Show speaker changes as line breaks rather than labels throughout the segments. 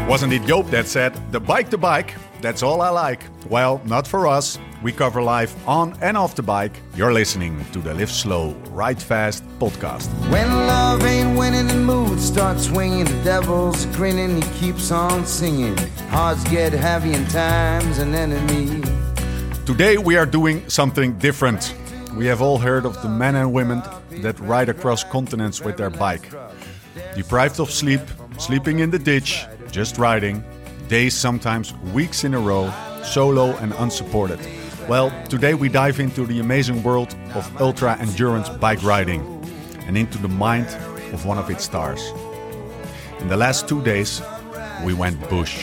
Wasn't it Joop that said, the bike, that's all I like? Well, not for us. We cover life on and off the bike. You're listening to the Live Slow, Ride Fast podcast.
When love ain't winning, the mood starts swinging. The devil's grinning, he keeps on singing. Hearts get heavy and time's an enemy.
Today we are doing something different. We have all heard of the men and women that ride across continents with their bike. Deprived of sleep, sleeping in the ditch, just riding, days, sometimes weeks in a row, solo and unsupported. Well, today we dive into the amazing world of ultra-endurance bike riding and into the mind of one of its stars. In the last 2 days, we went bush.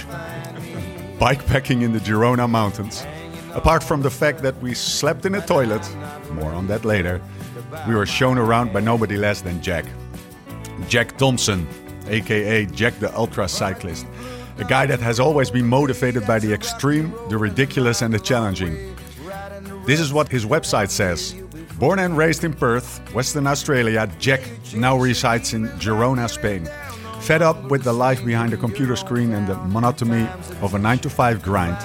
Bikepacking in the Girona mountains. Apart from the fact that we slept in a toilet, more on that later, we were shown around by nobody less than Jack. Jack Thompson, aka Jack the Ultra Cyclist. A guy that has always been motivated by the extreme, the ridiculous and the challenging. This is what his website says. Born and raised in Perth, Western Australia, Jack now resides in Girona, Spain. Fed up with the life behind the computer screen and the monotony of a 9-to-5 grind.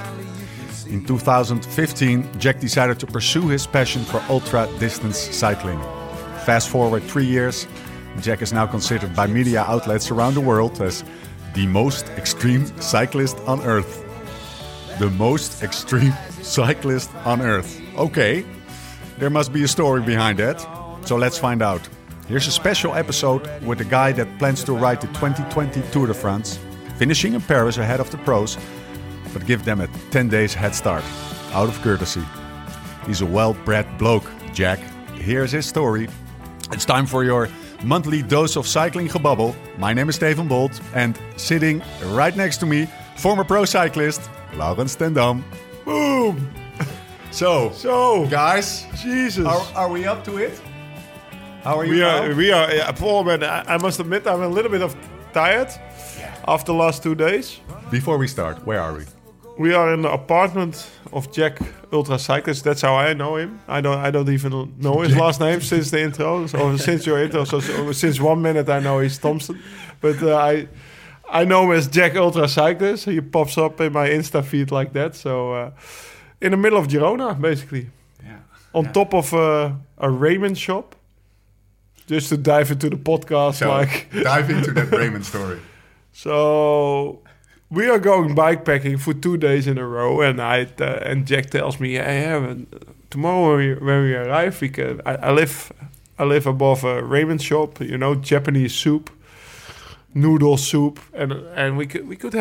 In 2015, Jack decided to pursue his passion for ultra-distance cycling. Fast forward 3 years, Jack is now considered by media outlets around the world as the most extreme cyclist on Earth. The most extreme cyclist on Earth. Okay, there must be a story behind that, so let's find out. Here's a special episode with a guy that plans to ride the 2020 Tour de France, finishing in Paris ahead of the pros, but give them a 10 days head start, out of courtesy. He's a well-bred bloke, Jack. Here's his story. It's time for your monthly dose of cycling gebabbel. My name is Steven Bolt, and sitting right next to me, former pro cyclist, Laurens ten Dam.
Boom!
So, guys,
Jesus.
Are we up to it? How are you?
We are. Yeah, Paul, man, I must admit I'm a little bit tired after the last 2 days.
Before we start, where are we?
We are in the apartment of Jack Ultra Cyclist. That's how I know him. I don't even know his last name since the intro. So since your intro, so since 1 minute I know he's Thompson. But I know him as Jack Ultra Cyclist. He pops up in my Insta feed like that. So in the middle of Girona, basically.
Yeah.
On top of a raiment shop. Just to dive into the podcast.
So, dive into that Raymond story.
So we are going bikepacking for 2 days in a row, and Jack tells me, "Hey, tomorrow when we arrive, I live above a ramen shop, you know, Japanese soup, noodle soup, and we could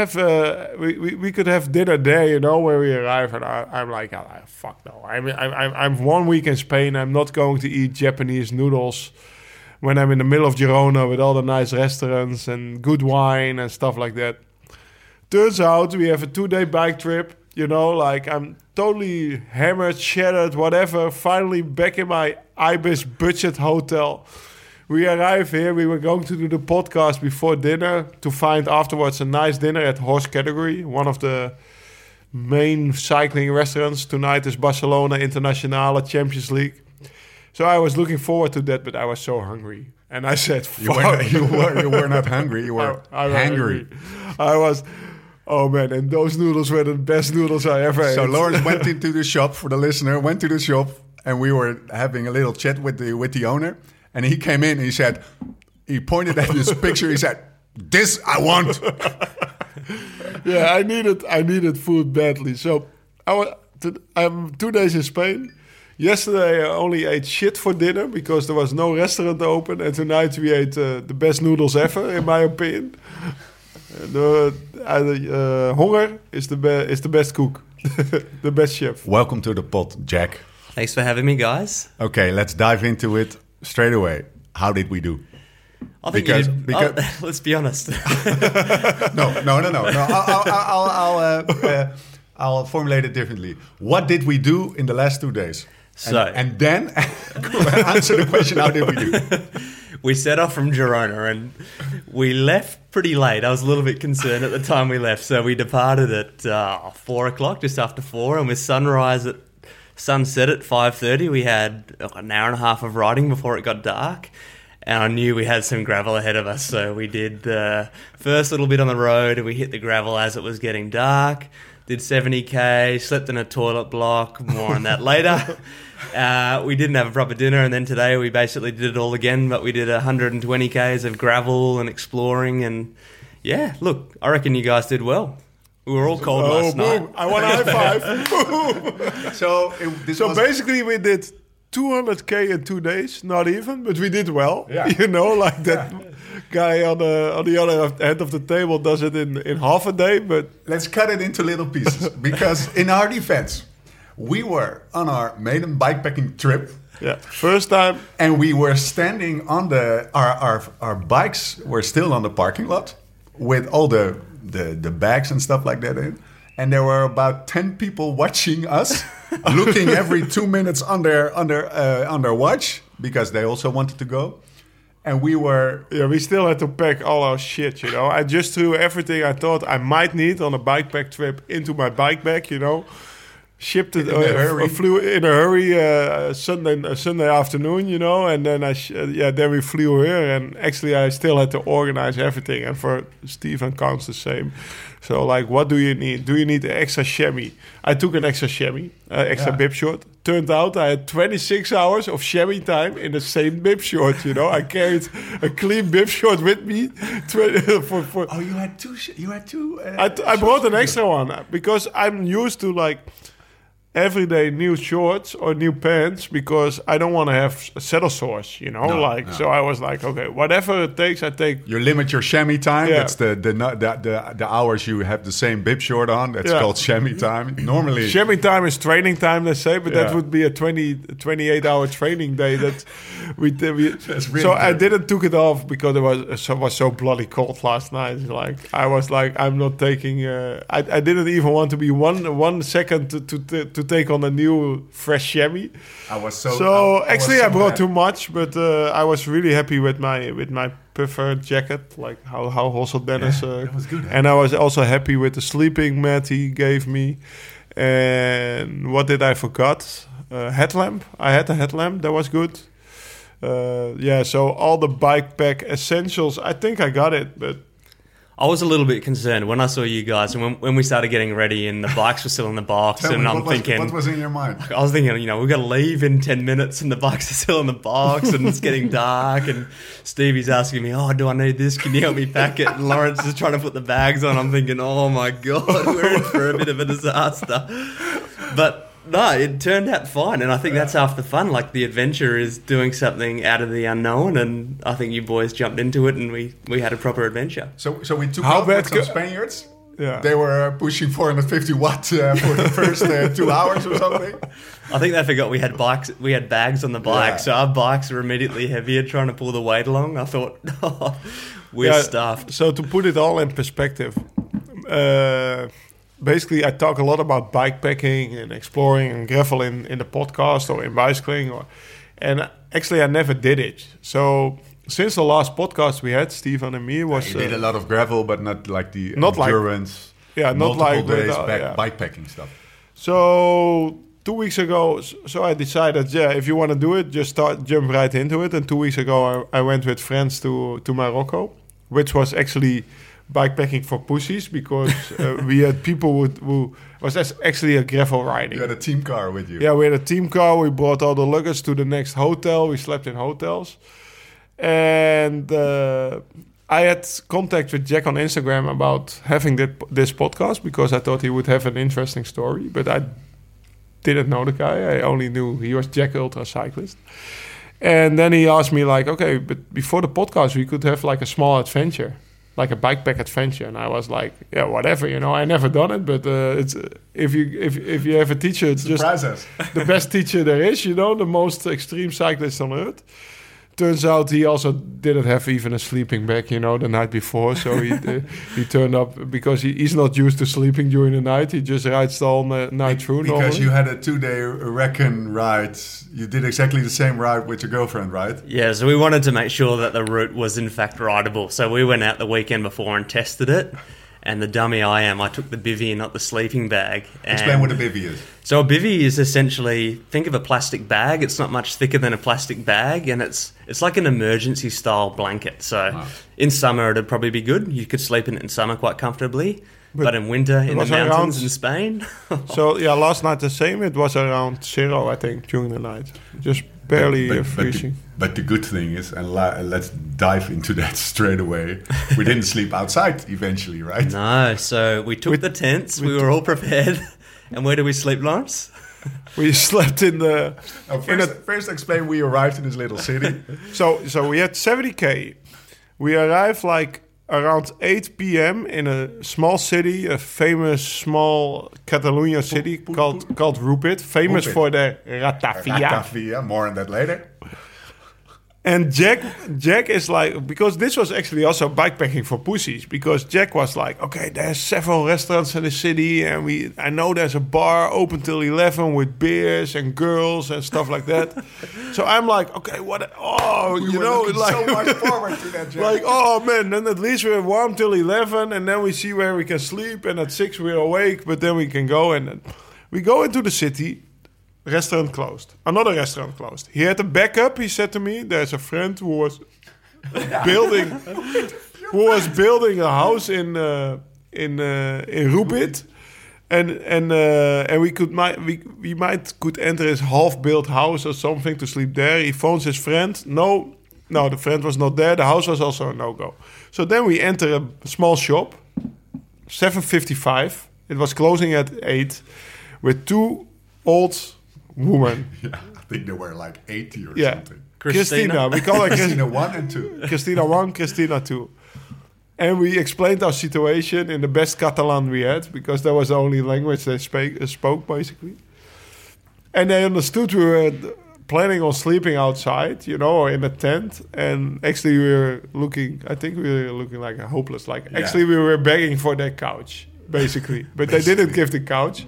have dinner there, you know, when we arrive." And I'm like, "Fuck no! I'm 1 week in Spain. I'm not going to eat Japanese noodles." When I'm in the middle of Girona with all the nice restaurants and good wine and stuff like that. Turns out we have a 2-day bike trip, you know, like I'm totally hammered, shattered, whatever. Finally back in my Ibis budget hotel. We arrive here, we were going to do the podcast before dinner to find afterwards a nice dinner at Horse Category, one of the main cycling restaurants. Tonight is Barcelona Internationale Champions League. So I was looking forward to that, but I was so hungry. And I said, fuck.
You were not hungry, you were hangry.
I was, oh man, and those noodles were the best noodles I ever ate.
So Laurens went into the shop, for the listener, went to the shop, and we were having a little chat with the owner. And he came in and he said, he pointed at this picture, he said, "This I want."
Yeah, I needed food badly. So I'm 2 days in Spain. Yesterday I only ate shit for dinner because there was no restaurant open, and tonight we ate the best noodles ever, in my opinion. Honger is the best cook, the best chef.
Welcome to the pod, Jack.
Thanks for having me, guys.
Okay, let's dive into it straight away. How did we do?
I think let's be honest.
No. I'll formulate it differently. What did we do in the last 2 days? And then answer the question, how did we do?
We set off from Girona and we left pretty late. I was a little bit concerned at the time we left. So we departed at 4 o'clock, just after 4. And with sunset at 5:30, we had an hour and a half of riding before it got dark. And I knew we had some gravel ahead of us, so we did the first little bit on the road, and we hit the gravel as it was getting dark. Did 70k, slept in a toilet block. More on that later. We didn't have a proper dinner, and then today we basically did it all again, but we did 120k's of gravel and exploring, and yeah, look, I reckon you guys did well. We were all cold last night.
I want a high five.
So
Basically we did 200k in 2 days, not even, but we did well.
Yeah.
You know, like that guy on the other end of the table does it in half a day, but
let's cut it into little pieces because in our defense, we were on our maiden bikepacking trip.
yeah, first time.
And we were standing on our bikes were still on the parking lot with all the bags and stuff like that in. And there were about 10 people watching us, looking every 2 minutes on their watch because they also wanted to go. And
we still had to pack all our shit, you know. I just threw everything I thought I might need on a bikepack trip into my bike bag, you know. Shipped it, flew in a hurry Sunday afternoon, you know, and then then we flew here, and actually I still had to organize everything, and for Steve and Kans the same. So like, what do you need? Do you need an extra chamois? I took an extra chamois, extra bib short. Turned out I had 26 hours of chamois time in the same bib short, you know. I carried a clean bib short with me.
Oh, you had two. You had two.
I brought an extra one because I'm used to like everyday new shorts or new pants because I don't want to have saddle sores, you know. So I was like, okay, whatever it takes, I take.
You limit your chamois time. Yeah. That's the hours you have the same bib short on. That's called chamois time. Normally,
chamois time is training time, they say, but that would be a 28-hour training day. That we really so good. I didn't took it off because it was so bloody cold last night. Like I was like, I'm not taking. I didn't even want to be one second to take on a new fresh chamois. I brought too much, but I was really happy with my preferred jacket, like how Hossel Dennis.
That was good.
And I was also happy with the sleeping mat he gave me. And what did I forgot? Headlamp. I had a headlamp. That was good. So all the bike pack essentials, I think I got it, but
I was a little bit concerned when I saw you guys and when we started getting ready and the bikes were still in the box.
Tell
and
me,
I'm thinking,
what was in your mind?
I was thinking, you know, we've got to leave in 10 minutes and the bikes are still in the box and it's getting dark. And Stevie's asking me, oh, do I need this? Can you help me pack it? And Lawrence is trying to put the bags on. I'm thinking, oh my God, we're in for a bit of a disaster. But no, it turned out fine, and I think that's half the fun. Like, the adventure is doing something out of the unknown, and I think you boys jumped into it, and we had a proper adventure.
So we took off with some Spaniards. Yeah. They were pushing 450 watt for the first 2 hours or something.
I think they forgot we had bikes. We had bags on the bike, so our bikes were immediately heavier trying to pull the weight along. I thought, we're stuffed.
So to put it all in perspective, basically, I talk a lot about bikepacking and exploring and gravel in the podcast or in bicycling, and actually I never did it. So since the last podcast we had, Stefan and me, was
you did a lot of gravel, but not like the endurance.
Not like
days bikepacking stuff.
So 2 weeks ago, so I decided, if you want to do it, just jump right into it. And 2 weeks ago, I went with friends to Morocco, which was actually bikepacking for pussies because we had people who was actually a gravel riding.
You had a team car with you.
Yeah, we had a team car. We brought all the luggage to the next hotel. We slept in hotels. And I had contact with Jack on Instagram about having this podcast because I thought he would have an interesting story. But I didn't know the guy. I only knew he was Jack Ultra Cyclist. And then he asked me like, okay, but before the podcast, we could have like a small adventure, like a bikepack adventure. And I was like, yeah, whatever, you know. I never done it, but it's if you have a teacher, it's just the best teacher there is, you know, the most extreme cyclist on earth. Turns out he also didn't have even a sleeping bag, you know, the night before. So he turned up because he's not used to sleeping during the night. He just rides the whole night through.
Because
normally.
You had a 2-day Reckon ride. You did exactly the same ride with your girlfriend, right?
Yeah, so we wanted to make sure that the route was in fact rideable. So we went out the weekend before and tested it. And the dummy I am, I took the bivvy and not the sleeping bag.
Explain what a bivvy is.
So a bivvy is essentially, think of a plastic bag. It's not much thicker than a plastic bag, and it's like an emergency style blanket. So in summer it'd probably be good. You could sleep in it in summer quite comfortably. But in winter in the mountains in Spain.
So yeah, last night the same. It was around 0, I think, during the night. Just barely freezing.
But the good thing is, and let's dive into that straight away. We didn't sleep outside eventually, right?
No, so we took the tents. We were all prepared. And where do we sleep, Lawrence?
We slept in the...
First explain we arrived in this little city.
So we had 70K. We arrived like around 8 p.m. in a small city, a famous small Catalonia city called Rupit. Famous for the ratafia.
Ratafia, more on that later.
And Jack is like, because this was actually also bikepacking for pussies, because Jack was like, okay, there's several restaurants in the city, and I know there's a bar open till 11 with beers and girls and stuff like that. So I'm like, okay, what? Oh,
we were like so much forward to that, Jack.
Like, oh man, then at least we're warm till 11, and then we see where we can sleep, and at 6 we're awake, but then we can go, and then we go into the city. Restaurant closed. Another restaurant closed. He had a backup. He said to me, "There's a friend who was building a house in Rupit, and we could enter his half-built house or something to sleep there." He phones his friend. No, the friend was not there. The house was also a no-go. So then we enter a small shop. 7:55. It was closing at 8, with 2 old woman.
Yeah, I think they were like 80 or something.
Christina. We call her
Christina 1 and 2.
Christina 1, Christina 2. And we explained our situation in the best Catalan we had, because that was the only language they spoke, basically. And they understood we were planning on sleeping outside, or in a tent. And actually we were looking like a hopeless. Actually we were begging for their couch, basically. But they didn't give the couch.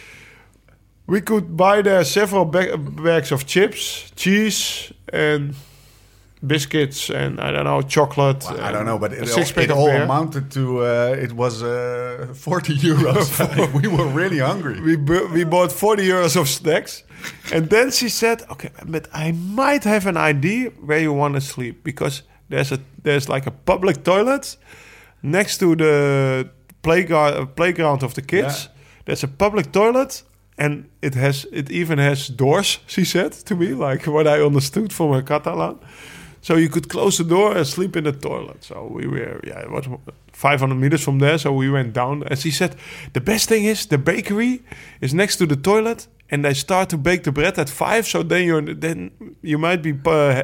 We could buy there several bags of chips, cheese, and biscuits, and I don't know, chocolate.
Well, I don't know, but it all amounted to, it was 40 euros. We were really hungry.
We bought 40 euros of snacks. And then she said, okay, but I might have an idea where you want to sleep, because there's like a public toilet next to the playground of the kids. Yeah. There's a public toilet. And it even has doors, she said to me, like what I understood from her Catalan. So you could close the door and sleep in the toilet. So we were, it was 500 meters from there. So we went down. And she said, the best thing is the bakery is next to the toilet. And they start to bake the bread at 5. So then you might be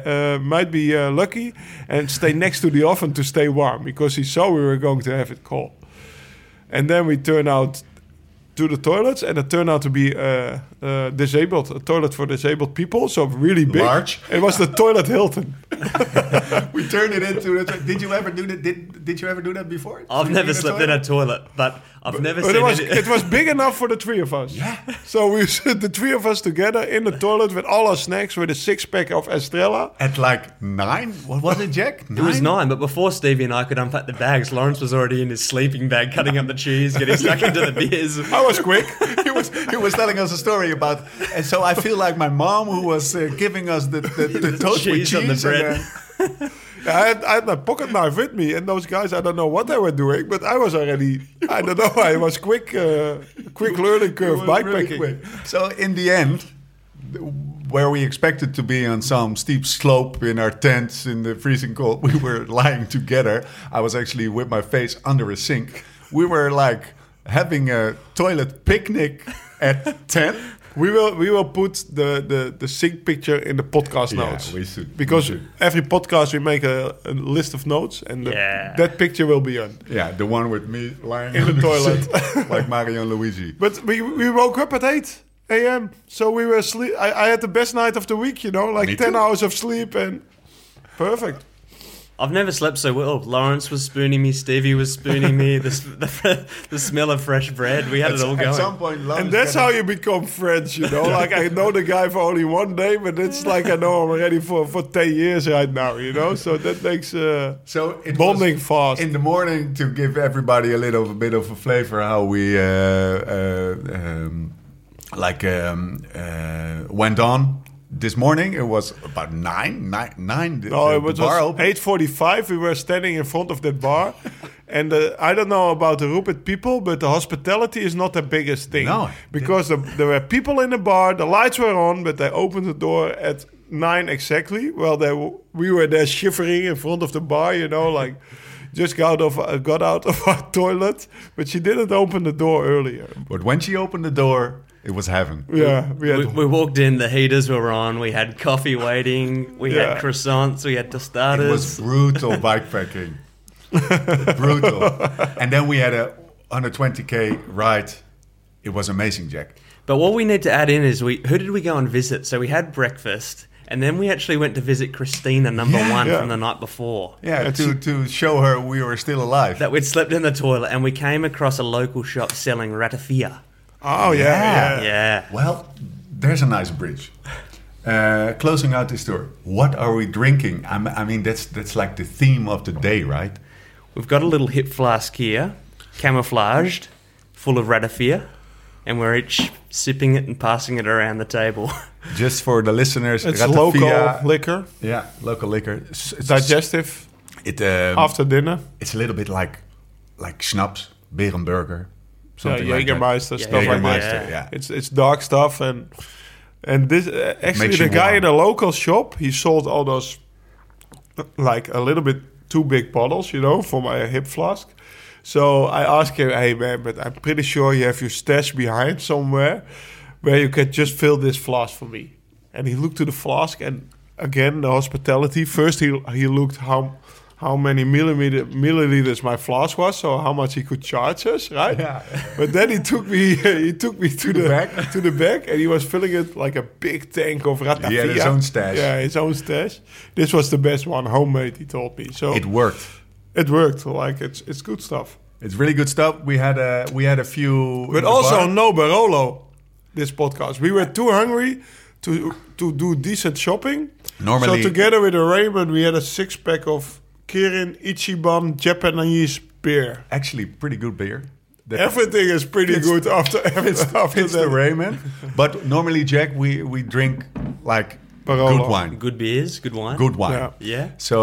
lucky and stay next to the oven to stay warm. Because she saw we were going to have it cold. And then we turned out to the toilets, and it turned out to be a toilet for disabled people, so really big.
Large.
It was the toilet Hilton.
We turned it into a... Did you ever do that? Did you ever do that before?
I've never slept in a toilet, but I've never seen
it was big enough for the 3 of us.
Yeah.
So we sit the 3 of us together in the toilet with all our snacks, with a 6-pack of Estrella.
At like 9? What was it, Jack? 9?
It was 9, but before Stevie and I could unpack the bags, Lawrence was already in his sleeping bag, cutting up the cheese, getting stuck into the beers.
I was quick.
He was telling us a story about, and so I feel like my mom, who was giving us the toast with cheese
on the bread.
I had my pocket knife with me, and those guys, I don't know what they were doing, but I was already, I don't know, I was quick learning curve bikepacking.
Really. So in the end, where we expected to be on some steep slope in our tents in the freezing cold, we were lying together. I was actually with my face under a sink. We were like having a toilet picnic at 10.
We will put the sink picture in the podcast notes.
We should.
Because every podcast we make a list of notes, and that picture will be on.
Yeah, the one with me lying
in the toilet.
Like Mario and Luigi.
But we woke up at 8 a.m. So we were asleep. I had the best night of the week, like 10 hours of sleep, and perfect.
I've never slept so well. Lawrence was spooning me, Stevie was spooning me, the smell of fresh bread. We had it all going.
At some point,
And that's how you become friends, you know. Like, I know the guy for only one day, but it's like I know him already for 10 years right now, you know. So that makes
so it
bonding
was
fast.
in the morning to give everybody a little bit of a flavor how we went on. This morning it was about 9.
No, it was
bar opened.
8:45. We were standing in front of that bar. And I don't know about the Rupert people, but the hospitality is not the biggest thing.
No.
Because there were people in the bar, the lights were on, but they opened the door at 9 exactly. Well, we were there shivering in front of the bar, you know, like just got out of our toilet. But she didn't open the door earlier.
But when she opened the door, it was heaven.
Yeah,
We walked in, the heaters were on, we had coffee waiting, we had croissants, we had
It
tostadas.
was brutal bikepacking. Brutal. And then we had a 120k ride. It was amazing, Jack.
But what we need to add in is who did we go and visit? So we had breakfast, and then we actually went to visit Christina, number one,
Yeah.
from the night before.
Yeah, to show her we were still alive.
That we'd slept in the toilet, and we came across a local shop selling ratafia.
Oh, yeah.
Yeah.
Well, there's a nice bridge. Closing out this tour, what are we drinking? I mean, that's like the theme of the day, right?
We've got a little hip flask here, camouflaged, full of ratafia, and we're each sipping it and passing it around the table.
Just for the listeners,
It's
ratafia-
local liquor,
Yeah, local liquor. It's
digestive,
after
after dinner.
it's a little bit like schnapps, Berenburger, something
Yeah,
like that.
Jägermeister, stuff like that.
Jägermeister, yeah.
It's dark stuff, and this actually
Makes
the
you
guy
warm.
in the local shop, he sold all those like a little bit too big bottles, you know, for my hip flask. So I asked him, hey man, but I'm pretty sure you have your stash behind somewhere where you can just fill this flask for me. And he looked to the flask, and again the hospitality. First he looked how many milliliters my flask was, so how much he could charge us, right?
Yeah.
But then he took me to the back, and he was filling it like a big tank of ratafia.
He had his own stash.
Yeah, his own stash. This was the best one, homemade. He told me. So
It worked.
it worked. Like it's good stuff.
It's really good stuff. We had a few,
But also no Barolo. This podcast, we were too hungry to do decent shopping.
Normally-
so together with Raymond, we had a 6-pack of Kirin Ichiban Japanese beer.
actually pretty good beer. That
Everything is pretty
Fits-
good after
fits
after
the
that.
Raymond. But normally, Jack, we drink like
Barolo.
good wine.
Good beers, good wine.
Good wine.
Yeah.
Yeah.
So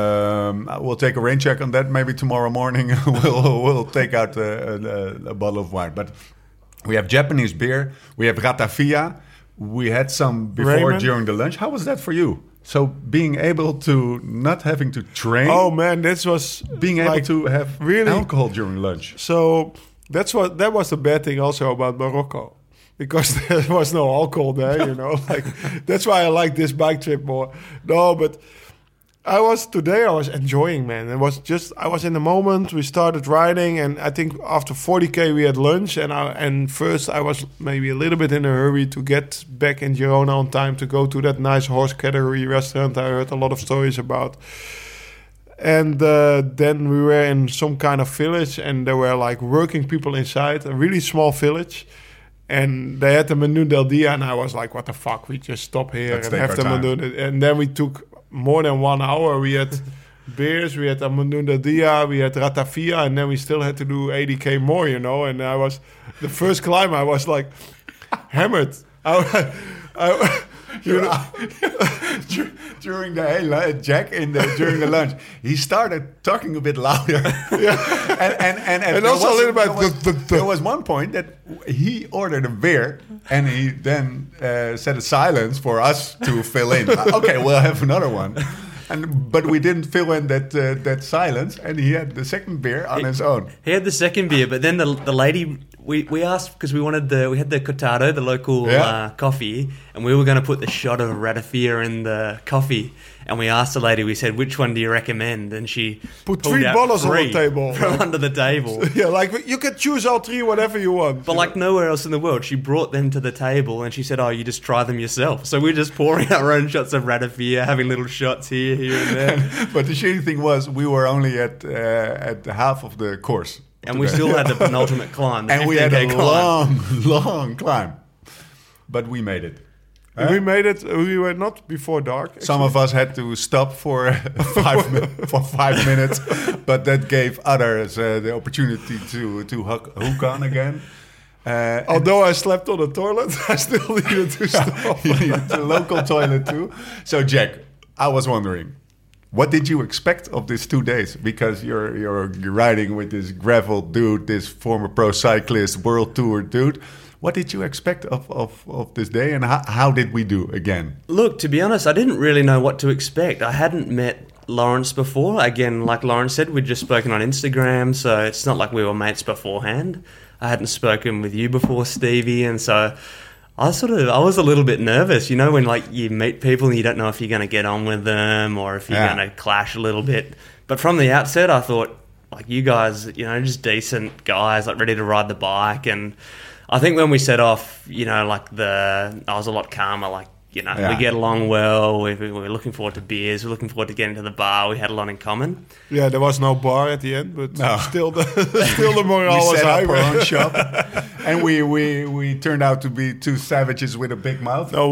we'll take a rain check on that. Maybe tomorrow morning we'll take out a bottle of wine. But we have Japanese beer. We have ratafia. We had some before
Raymond.
during the lunch. How was that for you? So being able to not having to train,
Oh man, this was
being able
like,
to have
really-
alcohol during lunch.
So that was the bad thing also about Morocco, because there was no alcohol there. You know, like that's why I like this bike trip more. No, but I was enjoying, man. I was in the moment. We started riding, and I think after 40k we had lunch. And first I was maybe a little bit in a hurry to get back in Girona on time to go to that nice horse category restaurant I heard a lot of stories about. And then we were in some kind of village, and there were like working people inside, a really small village. And they had the Menu del Dia, and I was like, what the fuck? We just stop here
Let's
and
take
have
our
the
time.
Menu. And then we took more than 1 hour. We had beers, we had a Menu del Dia, we had ratafia, and then we still had to do 80k more, you know. And the first climb, I was like hammered.
During the Jack during the lunch, he started talking a bit louder. and
And also a little bit
There was one point that he ordered a beer, and he then set a silence for us to fill in. Okay, we'll have another one. But we didn't fill in that silence, and he had the second beer on his own.
He had the second beer, but then the lady we asked because we had the cortado, the local
Yeah.
coffee, and we were going to put the shot of ratafia in the coffee, And we asked the lady, we said, which one do you recommend? And she
Put
pulled
3
out
bottles on the
3
table.
from under the table.
Yeah, like you can choose all 3 whatever you want.
But like nowhere else in the world, she brought them to the table and she said, "Oh, you just try them yourself." So we're just pouring our own shots of Ratafia, having little shots here and there,
But the shitty thing was, we were only at half of the course.
and we still had the penultimate climb. The
And we had
15K
a
climb.
long climb. But we made it.
We made it. We were not before dark.
Some of us had to stop for 5 minutes, but that gave others the opportunity to hook on again.
Although I slept on the toilet, I still needed to stop.
You needed a local toilet too. So Jack, I was wondering, what did you expect of these 2 days? Because you're riding with this gravel dude, this former pro cyclist, world tour dude. What did you expect of this day, and how did we do again?
Look, to be honest, I didn't really know what to expect. I hadn't met Lawrence before. Again, like Lawrence said, we'd just spoken on Instagram, so it's not like we were mates beforehand. I hadn't spoken with you before, Stevie, and so I was a little bit nervous. You know, when like you meet people and you don't know if you're going to get on with them or if you're going to clash a little bit. But from the outset, I thought, like, you guys, you know, just decent guys, like ready to ride the bike. And I think when we set off, you know, like I was a lot calmer, like, you know, we get along well. We were looking forward to beers. We're looking forward to getting to the bar. We had a lot in common.
Yeah, there was no bar at the end, but still the morale
We
was
set
high.
up our own shop, and we turned out to be 2 savages with a big mouth.
No,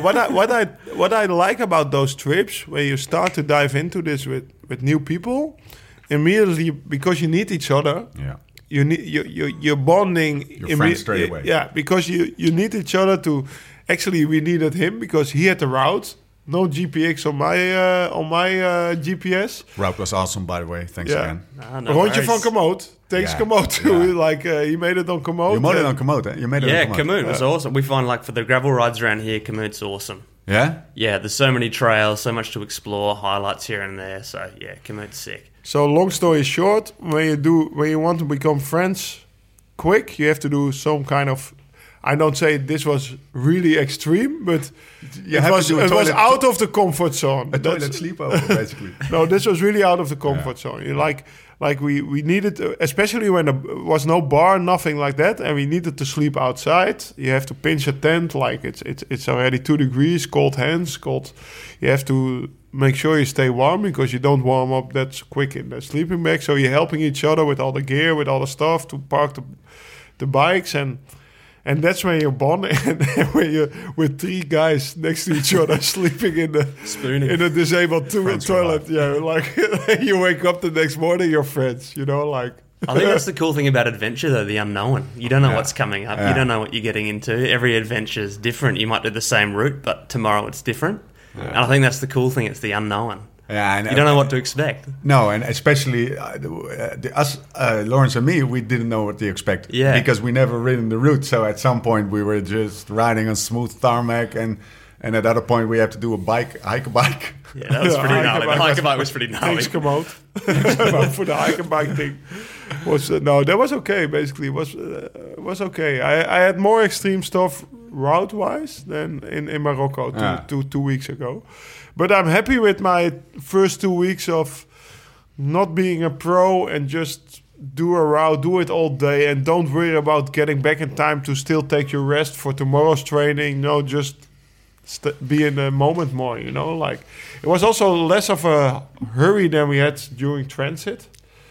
what I like about those trips, where you start to dive into this with new people, immediately, because you need each other.
Yeah.
You're bonding.
You're friends straight away.
Yeah, because you need each other to. Actually, we needed him because he had the route. No GPX on my GPS.
Route was awesome, by the way. Thanks again.
No
Rondje
worries.
van Komoot. Thanks, Komoot, too.
Yeah.
Like, he made it on Komoot.
You made it on Komoot, eh? You made it
Yeah,
on Komoot.
Komoot was awesome. We find, like, for the gravel rides around here, Komoot's awesome.
Yeah?
Yeah, there's so many trails, so much to explore, highlights here and there. So, yeah, Komoot's sick.
So, long story short, when you want to become friends quick, you have to do some kind of... I don't say this was really extreme, but it was out of the comfort zone.
A toilet sleepover, basically.
No, this was really out of the comfort zone. You like we needed, especially when there was no bar, nothing like that, and we needed to sleep outside. You have to pinch a tent, like it's already 2 degrees, cold hands, cold. You have to make sure you stay warm because you don't warm up that quick in the sleeping bag. So you're helping each other with all the gear, with all the stuff to park the bikes and that's when you're bonding, and when you're with 3 guys next to each other sleeping in a disabled toilet. Yeah, like you wake up the next morning, you're friends. You know, like.
I think that's the cool thing about adventure, though, the unknown. You don't know what's coming up. You don't know what you're getting into. Every adventure is different. You might do the same route, but tomorrow it's different. Yeah. And I think that's the cool thing. It's the unknown.
Yeah, and,
you don't know what to expect.
No, and especially us, Lawrence and me, we didn't know what to expect.
Yeah.
Because we never ridden the route. So at some point we were just riding on smooth tarmac, and at other point we had to do hike a bike.
Yeah, that was pretty gnarly. The hike a bike was pretty gnarly.
Things come out for the hike a bike thing. That was okay. Basically, was okay. I had more extreme stuff route wise than in Morocco 2 weeks ago. But I'm happy with my first 2 weeks of not being a pro and just do a route, do it all day, and don't worry about getting back in time to still take your rest for tomorrow's training. No, just be in the moment more, you know? Like, it was also less of a hurry than we had during transit.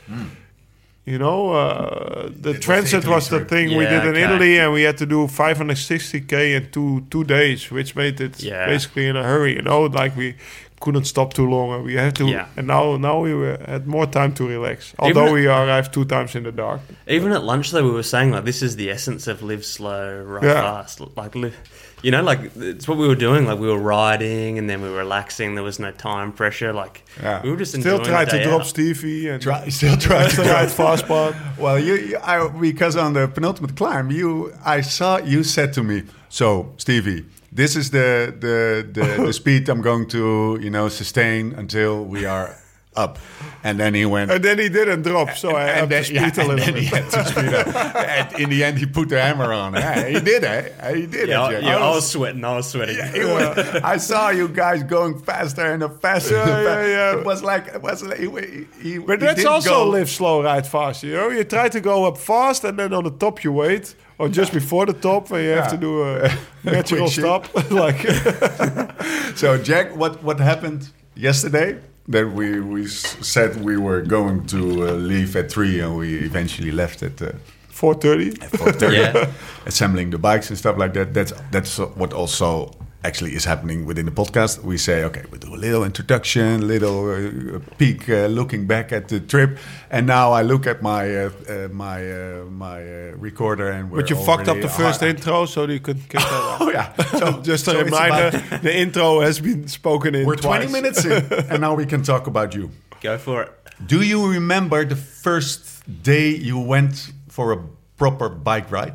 You know, the transit was the thing we did in Italy, and we had to do 560k in two days, which made it basically in a hurry. You know, like we couldn't stop too long, and we had to. Yeah. And now we had more time to relax. Although we arrived 2 times in the dark.
Even at lunch, though, we were saying like this is the essence of live slow, ride fast. Like live. You know, like it's what we were doing. Like we were riding, and then we were relaxing. There was no time pressure. Like we were just
still tried to drop Stevie and
still tried to
ride fast part.
Well, because on the penultimate climb, I saw you said to me, "So Stevie, this is the speed I'm going to sustain until we are up. And then he went...
And then he didn't drop, so I had to speed a little
then
bit.
he had to speed up. And in the end, he put the hammer on. Yeah, he did, eh? He did.
Yeah,
Jack.
I was sweating.
I saw you guys going faster and faster.
Yeah.
It was like he
But that's also live slow, ride fast. You know, you try to go up fast, and then on the top you wait, or just before the top, where you have to do a natural
quick
stop. Like,
So, Jack, what happened yesterday? That we said we were going to leave at 3, and we eventually left at
4:30.
4:30.
Yeah.
Assembling the bikes and stuff like that. That's what also actually is happening within the podcast. We say, okay, we'll do a little introduction, little peek, looking back at the trip, and now I look at my my recorder, and
But you fucked up the first intro, so you could get that out.
Oh yeah, so
Just a
so it's
reminder,
about-
the intro has been spoken in
we're
twice.
20 minutes in, and now we can talk about you.
Go for it.
Do you remember the first day you went for a proper bike ride?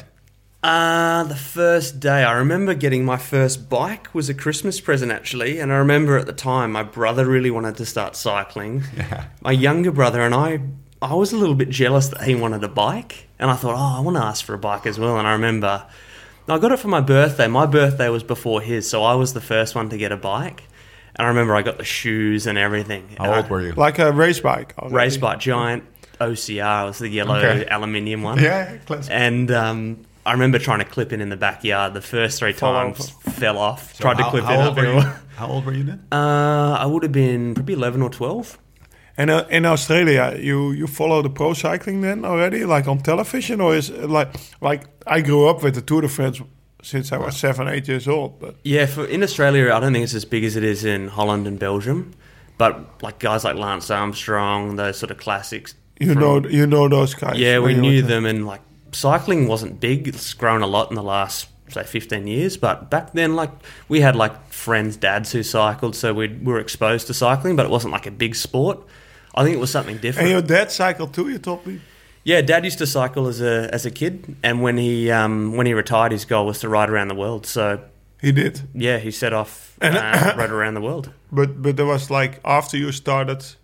The first day, I remember getting my first bike was a Christmas present actually, and I remember at the time my brother really wanted to start cycling.
Yeah.
My younger brother and I was a little bit jealous that he wanted a bike, and I thought, I want to ask for a bike as well. And I remember I got it for my birthday. My birthday was before his, so I was the first one to get a bike. And I remember I got the shoes and everything.
How old were you?
Like a race bike. already.
Race bike, giant OCR, was the yellow
Okay.
aluminium one.
Yeah, classic.
And I remember trying to clip in the backyard. The first 3
Fall
times fell off.
So
Tried to clip it up.
How old were you then?
I would have been probably 11 or 12.
And in Australia, you follow the pro cycling then already, like on television, or is it like I grew up with the Tour de France since I was 7, 8 years old. But
Yeah, in Australia, I don't think it's as big as it is in Holland and Belgium. But like guys like Lance Armstrong, those sort of classics.
you know those guys.
Yeah, we
when you
knew
were
them, and like cycling wasn't big. It's grown a lot in the last, say, 15 years. But back then, like we had like friends' dads who cycled, so we were exposed to cycling, but it wasn't like a big sport. I think it was something different.
And your dad cycled too, you told me?
Yeah, Dad used to cycle as a kid, and when he retired, his goal was to ride around the world. So
He did.
yeah, he set off, rode around the world.
But there was like, after you started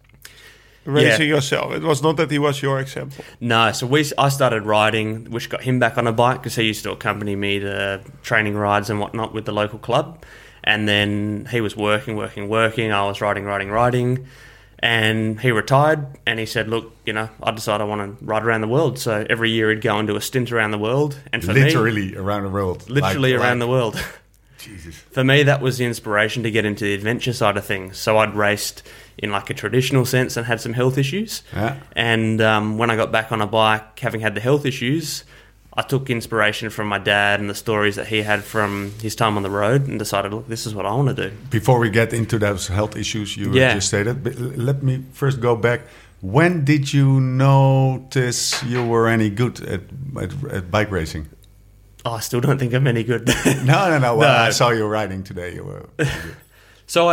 racing yourself, it was not that he was your example.
No, so I started riding, which got him back on a bike because he used to accompany me to training rides and whatnot with the local club. And then he was working. I was riding. And he retired, and he said, look, I decided I want to ride around the world. So every year he'd go and do a stint around the world. And for
Literally around the world.
Literally around the world.
Jesus.
For me, that was the inspiration to get into the adventure side of things. So I'd raced in like a traditional sense and had some health issues.
Yeah.
And when I got back on a bike, having had the health issues, I took inspiration from my dad and the stories that he had from his time on the road and decided, look, this is what I want to do.
Before we get into those health issues you just stated, but let me first go back. When did you notice you were any good at bike racing?
Oh, I still don't think I'm any good.
No. Well,
No.
I saw you riding today. You were pretty good.
So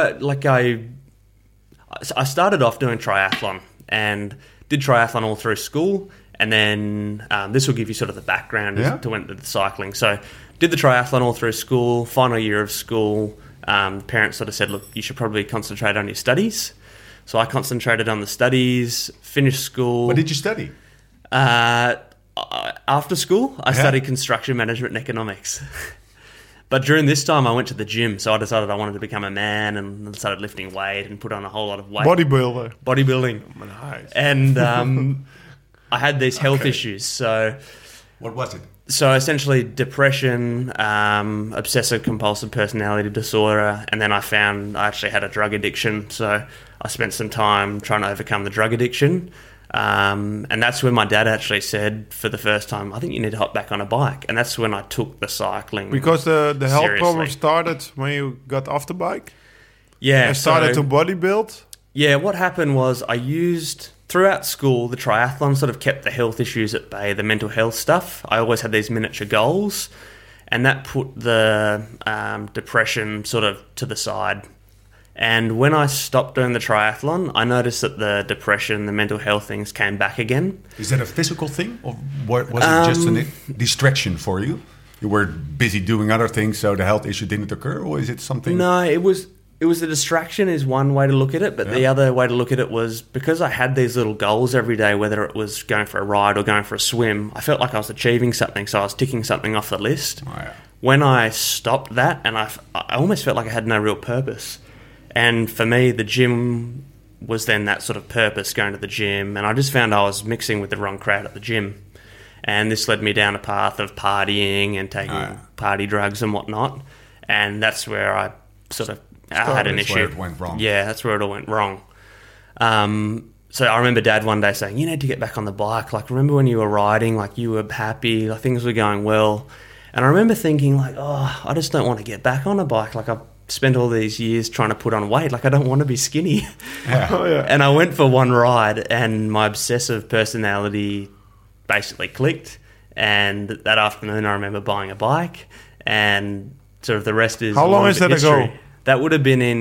I started off doing triathlon and did triathlon all through school. And then this will give you sort of the background to when the cycling. So did the triathlon all through school, final year of school. Parents sort of said, look, you should probably concentrate on your studies. So I concentrated on the studies, finished school.
What did you study?
After school, I studied construction management and economics. But during this time, I went to the gym. So I decided I wanted to become a man and started lifting weight and put on a whole lot of weight. Bodybuilding.
Nice.
And I had these health issues. So
What was it?
So essentially depression, obsessive compulsive personality disorder, and then I found I actually had a drug addiction. So I spent some time trying to overcome the drug addiction. And that's when my dad actually said for the first time, I think you need to hop back on a bike. And that's when I took the cycling.
Because the health
seriously.
problem started when you got off the bike?
Yeah.
I started to bodybuild?
Yeah, what happened was I used, throughout school, the triathlon sort of kept the health issues at bay, the mental health stuff. I always had these miniature goals, and that put the depression sort of to the side. And when I stopped doing the triathlon, I noticed that the depression, the mental health things came back again.
Is that a physical thing, or was it just a distraction for you? You were busy doing other things, so the health issue didn't occur, or is it something?
No, it was It was a distraction is one way to look at it, but the other way to look at it was because I had these little goals every day, whether it was going for a ride or going for a swim, I felt like I was achieving something, so I was ticking something off the list.
Oh, yeah.
When I stopped that, and I almost felt like I had no real purpose. And for me, the gym was then that sort of purpose, going to the gym, and I just found I was mixing with the wrong crowd at the gym. And this led me down a path of partying and taking party drugs and whatnot. And that's where I sort of had an issue.
Where it went wrong.
Yeah, that's where it all went wrong. So I remember Dad one day saying, you need to get back on the bike. Like, remember when you were riding, like you were happy, like things were going well. And I remember thinking like, oh, I just don't want to get back on a bike. Like I've spent all these years trying to put on weight. Like I don't want to be skinny.
Yeah.
Oh, yeah.
And I went for one ride and my obsessive personality basically clicked. And that afternoon I remember buying a bike and sort of the rest is...
How long
more
is
of
that
history.
ago?
That would have been in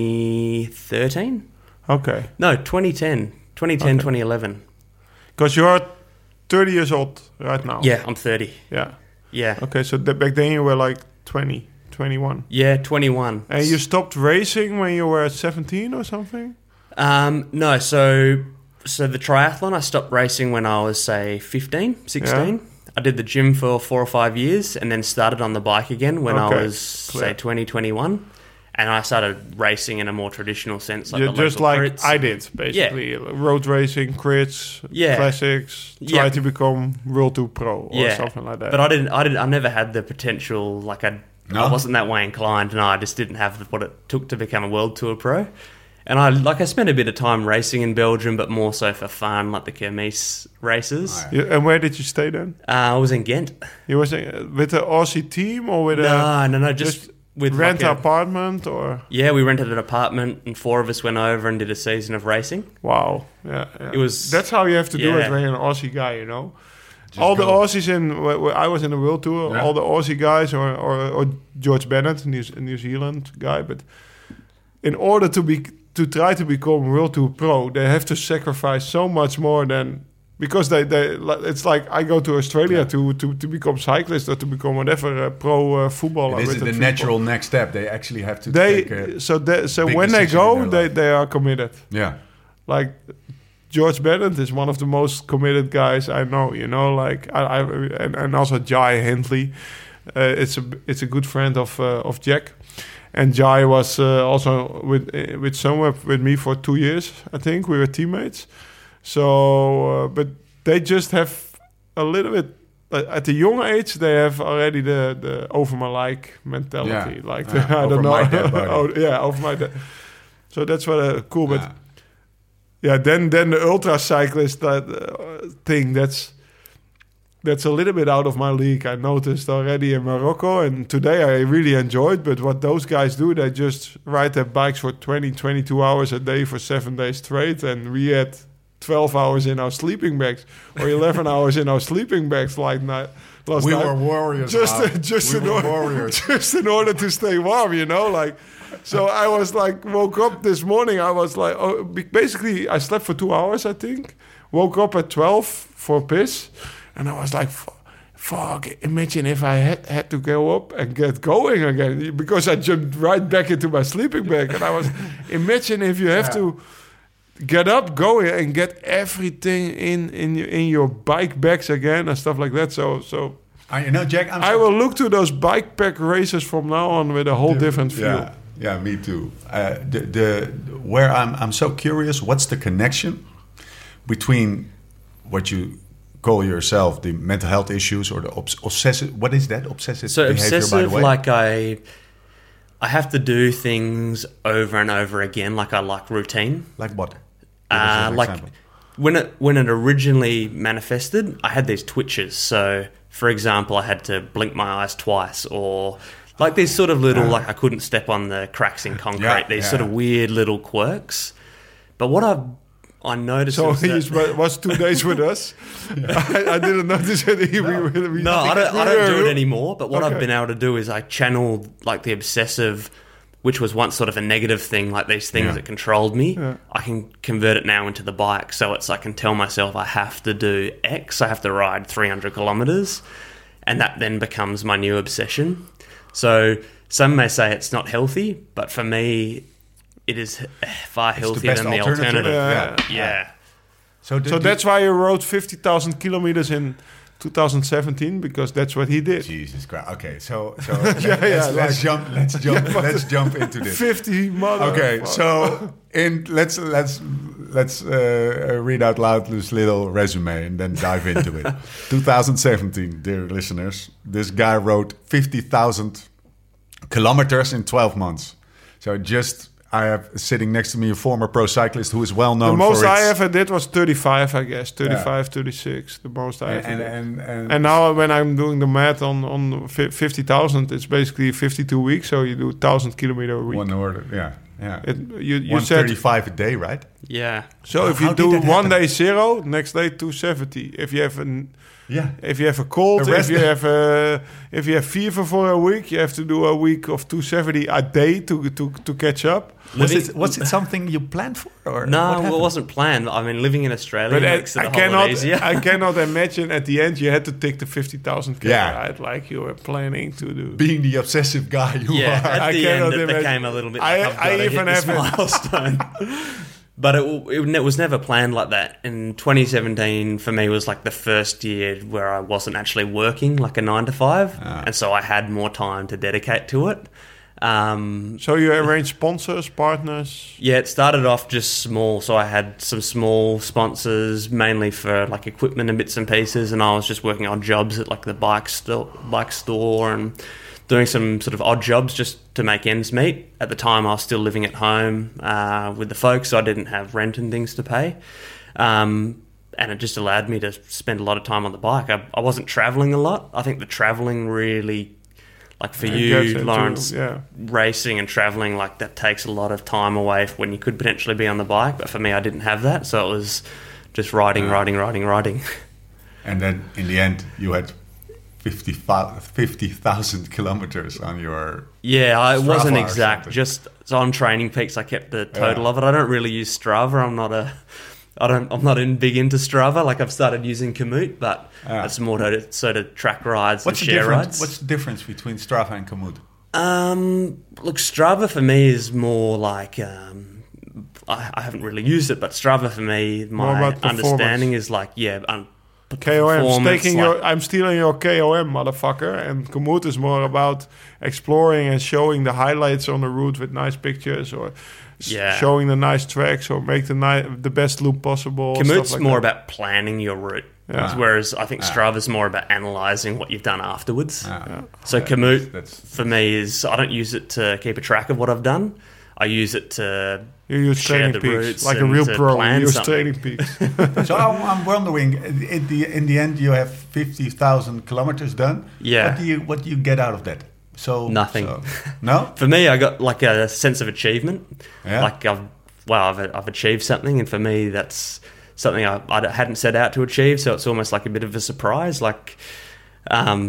2013?
Okay.
No, 2010. 2011.
Because you're 30 years old right now.
Yeah, I'm 30.
Yeah.
Yeah.
Okay, so back then you were like 20, 21.
Yeah, 21.
And you stopped racing when you were 17 or something?
No, so the triathlon, I stopped racing when I was, say, 15, 16.
Yeah.
I did the gym for 4 or 5 years and then started on the bike again when I was,
clear.
say, 20, 21. And I started racing in a more traditional sense. Like
You're
the
just
local
like
crits.
I did, basically. Road racing, crits,
Yeah.
classics,
Yeah.
try to become World Tour Pro or something like that.
But I never had the potential, like I wasn't that way inclined. No, I just didn't have what it took to become a World Tour Pro. And I spent a bit of time racing in Belgium, but more so for fun, like the Kermesse races.
Right.
And where did you stay then?
I was in Ghent.
You was with the Aussie team or with
No, just with
rent
like
an apartment or...
Yeah, we rented an apartment and 4 of us went over and did a season of racing.
Wow. Yeah.
It was...
That's how you have to do it
Yeah.
when you're an Aussie guy, you know?
Just
all the
go.
Aussies where I was in the World Tour,
Yeah.
all the Aussie guys or George Bennett, New Zealand guy, but in order to try to become World Tour Pro, they have to sacrifice so much more than... Because they it's like I go to Australia to become cyclist or to become whatever pro footballer.
This
with
is the
football.
natural next step. They actually have to take a
So
big
when they
decision
go,
in their
they are committed.
Yeah.
Like George Bennett is one of the most committed guys I know. You know, like and also Jai Hindley. It's a good friend of Jack, and Jai was also with somewhere with me for 2 years. I think we were teammates. So, but they just have a little bit. At the young age, they have already the over my like mentality.
Yeah.
Like
Yeah,
I
over
don't know.
my dead body.
Over my dead. So that's what cool. But yeah, then the ultra cyclist thing that's a little bit out of my league. I noticed already in Morocco, and today I really enjoyed. But what those guys do, they just ride their bikes for 22 hours a day for 7 days straight, and we had 12 hours in our sleeping bags or 11 hours in our sleeping bags last night.
We were warriors.
Just in order to stay warm, you know, like. So I was like, woke up this morning. I was like, basically, I slept for 2 hours, I think. Woke up at 12 for piss, and I was like, fuck. Imagine if I had to go up and get going again, because I jumped right back into my sleeping bag, and I was, imagine if you have to get up, go and get everything in your bike bags again and stuff like that. So
You know, Jack,
I will look to those bike pack races from now on with a whole different feel.
Yeah, me too. Where I'm so curious, what's the connection between what you call yourself the mental health issues or the obsessive? What is that obsessive
So
behavior?
obsessive,
by the way?
like I have to do things over and over again. Like I like routine.
Like what? Give us an
Like
example.
when it originally manifested, I had these twitches. So, for example, I had to blink my eyes twice, or like these sort of little, like I couldn't step on the cracks in concrete. These sort of weird little quirks. But what I noticed.
So
was
he
that-
was 2 days with us. I didn't notice that we
No, I don't do it anymore. But what
Okay.
I've been able to do is I channeled like the obsessive, which was once sort of a negative thing, like these things that controlled me.
Yeah.
I can convert it now into the bike. So it's I can tell myself I have to do X. I have to ride 300 kilometers, and that then becomes my new obsession. So some may say it's not healthy, but for me, it is far healthier
best
than the
alternative.
alternative.
Yeah.
Yeah.
So
that's why you rode 50,000 kilometers in 2017, because that's what he did.
Jesus Christ. Okay, so let's jump into this.
50 mother.
Okay, so let's read out loud this little resume and then dive into it. 2017, dear listeners, this guy rode 50,000 kilometers in 12 months. So I have sitting next to me a former pro cyclist who is well known.
The most
for
I ever did was 35, I guess. 35, 36. The most I ever did. And now when I'm doing the math on 50,000, it's basically 52 weeks. So you do 1,000 kilometer a week.
1 order, yeah.
You said
135 a day, right?
Yeah.
So if you do 1 day 0, next day 270. If you have if you have a cold, if you have fever for a week, you have to do a week of 270 a day to catch up.
Was it something you planned for? Or
No, it wasn't planned. I mean, living in Australia makes it a whole lot easier.
I cannot imagine at the end you had to take the 50,000 k, right? Like you were planning to do.
Being the obsessive guy you are.
At the end, it became a little bit like I've got to hit this milestone. But it was never planned like that. In 2017, for me, was like the first year where I wasn't actually working like a 9 to 5. And so I had more time to dedicate to it.
So you arranged sponsors, partners?
Yeah, it started off just small. So I had some small sponsors, mainly for like equipment and bits and pieces. And I was just working on jobs at like the bike store and doing some sort of odd jobs just to make ends meet. At the time, I was still living at home with the folks, so I didn't have rent and things to pay. And it just allowed me to spend a lot of time on the bike. I wasn't travelling a lot. I think the travelling really, like for you, Lawrence, racing and travelling, like that takes a lot of time away when you could potentially be on the bike. But for me, I didn't have that, so it was just riding.
And then in the end, you had 50,000 kilometers on your
it wasn't exact.
Something.
Just so on Training Peaks, I kept the total of it. I don't really use Strava. I'm not big into Strava. Like I've started using Komoot, but it's more to sort of track rides and share rides.
What's the difference between Strava and Komoot?
Look, Strava for me is more like I haven't really used it, but Strava for me, my understanding is like
KOM, I'm stealing your KOM, motherfucker. And Komoot is more about exploring and showing the highlights on the route with nice pictures, or showing the nice tracks, or make the best loop possible.
Komoot's more about planning your route, whereas I think Strava's more about analysing what you've done afterwards. So Komoot, for me, is I don't use it to keep a track of what I've done. I use it to share the routes,
like a real pro. You use Training Peaks.
So I'm wondering, in the end, you have 50,000 kilometers done.
Yeah.
What do you get out of that? So
nothing.
No.
For me, I got like a sense of achievement.
Yeah.
Like I've achieved something, and for me, that's something I hadn't set out to achieve. So it's almost like a bit of a surprise. Like, I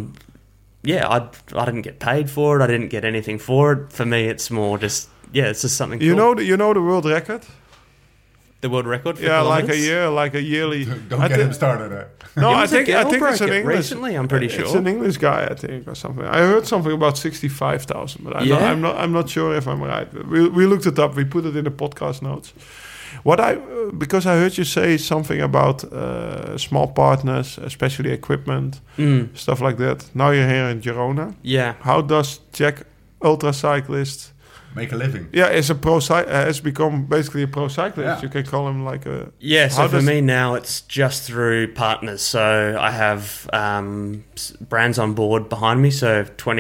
didn't get paid for it. I didn't get anything for it. For me, it's more just. Yeah, it's just something.
You know the world record.
The world record. For
kilometers? like a yearly.
Don't get him started.
No, I think it's an English.
Recently, I'm pretty sure
it's an English guy, I think, or something. I heard something about 65,000, but I'm not sure if I'm right. We looked it up. We put it in the podcast notes. Because I heard you say something about small partners, especially equipment, stuff like that. Now you're here in Girona.
Yeah.
How does Jack ultra cyclist
make a living?
Yeah, has become basically a pro cyclist. Yeah. You can call him like a...
Yeah, so for me now, it's just through partners. So I have brands on board behind me. So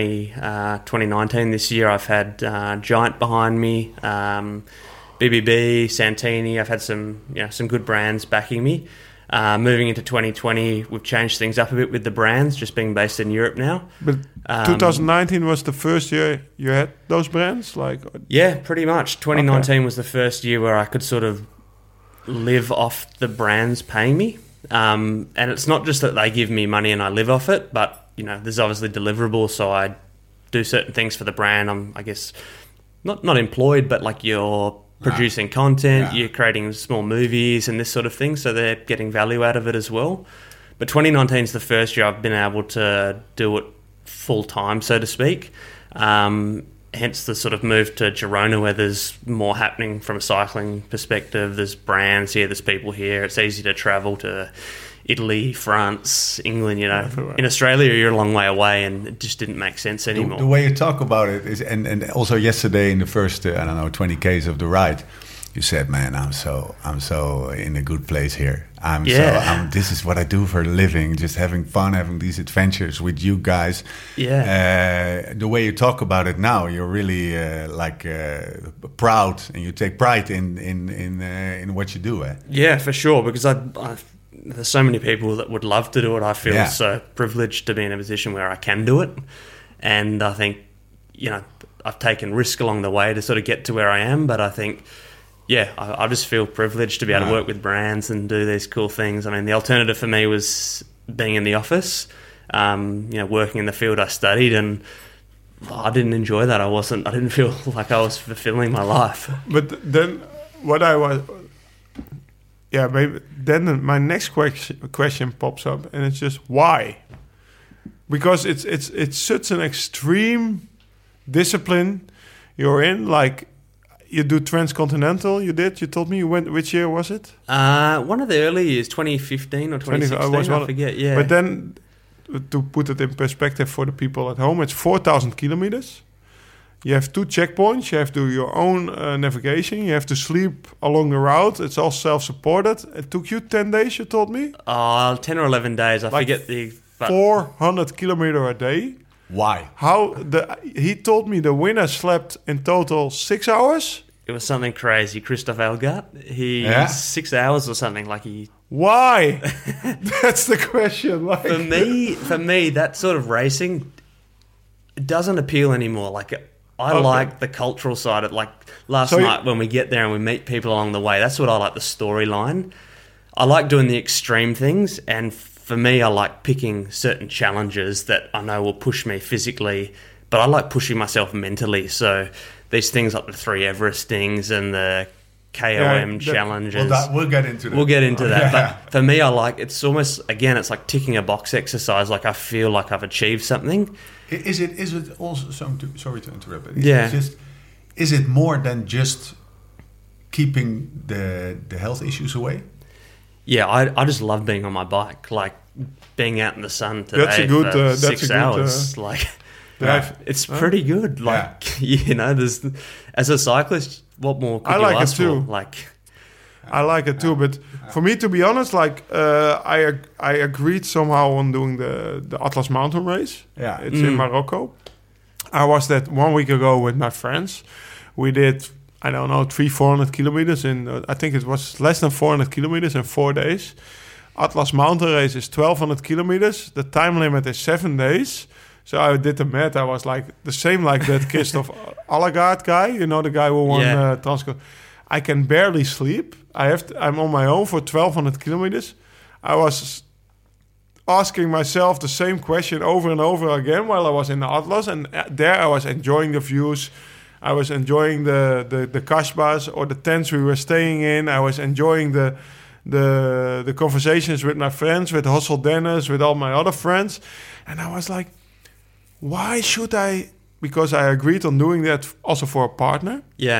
2019, this year, I've had Giant behind me, BBB, Santini. I've had some good brands backing me. Moving into 2020, we've changed things up a bit with the brands, just being based in Europe now.
But 2019 was the first year you had those brands?
Yeah, pretty much. 2019 was the first year where I could sort of live off the brands paying me. And it's not just that they give me money and I live off it, but there's obviously deliverables, so I do certain things for the brand. I'm, I guess, not employed, but like you're producing content, you're creating small movies and this sort of thing, so they're getting value out of it as well. But 2019 is the first year I've been able to do it full time, so to speak. Hence the sort of move to Girona, where there's more happening from a cycling perspective. There's brands here, there's people here. It's easy to travel to Italy, France, England, you know.
Everywhere.
In Australia, you're a long way away, and it just didn't make sense anymore.
The way you talk about it is, and also yesterday in the first, 20 Ks of the ride, you said, "Man, I'm so in a good place here. This is what I do for a living, just having fun, having these adventures with you guys."
Yeah.
The way you talk about it now, you're really proud, and you take pride in what you do.
Yeah, for sure. Because there's so many people that would love to do it. I feel so privileged to be in a position where I can do it, and I think, you know, I've taken risk along the way to sort of get to where I am. But I think, I just feel privileged to be able to work with brands and do these cool things. I mean, the alternative for me was being in the office, working in the field I studied, and I didn't enjoy that. I didn't feel like I was fulfilling my life.
But then what I was... Yeah, maybe then my next question pops up, and it's just why? Because it's such an extreme discipline you're in. Like, you do transcontinental. You told me you went. Which year was it?
One of the early years, 2015 or 2016. I forget. Yeah.
But then, to put it in perspective for the people at home, it's 4,000 kilometers. You have 2 checkpoints. You have to do your own navigation. You have to sleep along the route. It's all self-supported. It took you 10 days, you told me?
10 or 11 days. I forget the...
400 kilometers a day.
Why?
He told me the winner slept in total 6 hours.
It was something crazy. Christophe Elgaard. 6 hours or something.
Why? That's the question.
For me, that sort of racing doesn't appeal anymore. I like the cultural side of it. Last night when we get there and we meet people along the way, that's what I like, the storyline. I like doing the extreme things, and for me, I like picking certain challenges that I know will push me physically, but I like pushing myself mentally. So these things like the 3 Everestings and the KOM challenges.
We'll get into that.
We'll get into that. But for me, it's almost, again, it's like ticking a box exercise. I feel like I've achieved something.
Is it also sorry to interrupt? But
Yeah.
Is it more than just keeping the health issues away?
Yeah, I just love being on my bike, being out in the sun today
That's a good,
for
that's
6
a good,
hours. It's pretty good. There's, as a cyclist, what more could you ask for?
I like it too, but for me, to be honest, I agreed somehow on doing the Atlas Mountain Race.
Yeah,
it's in Morocco. I was that 1 week ago with my friends. We did, 300-400 kilometers in. I think it was less than 400 kilometers in 4 days. Atlas Mountain Race is 1,200 kilometers. The time limit is 7 days. So I did the math. I was the same like that Christophe Elgaard guy. The guy who won Transco. I can barely sleep. I'm on my own for 1,200 kilometers. I was asking myself the same question over and over again while I was in the Atlas, and there I was enjoying the views. I was enjoying the kasbahs or the tents we were staying in. I was enjoying the conversations with my friends, with Hossel Dennis, with all my other friends, and I was like, why should I? Because I agreed on doing that also for a partner.
Yeah.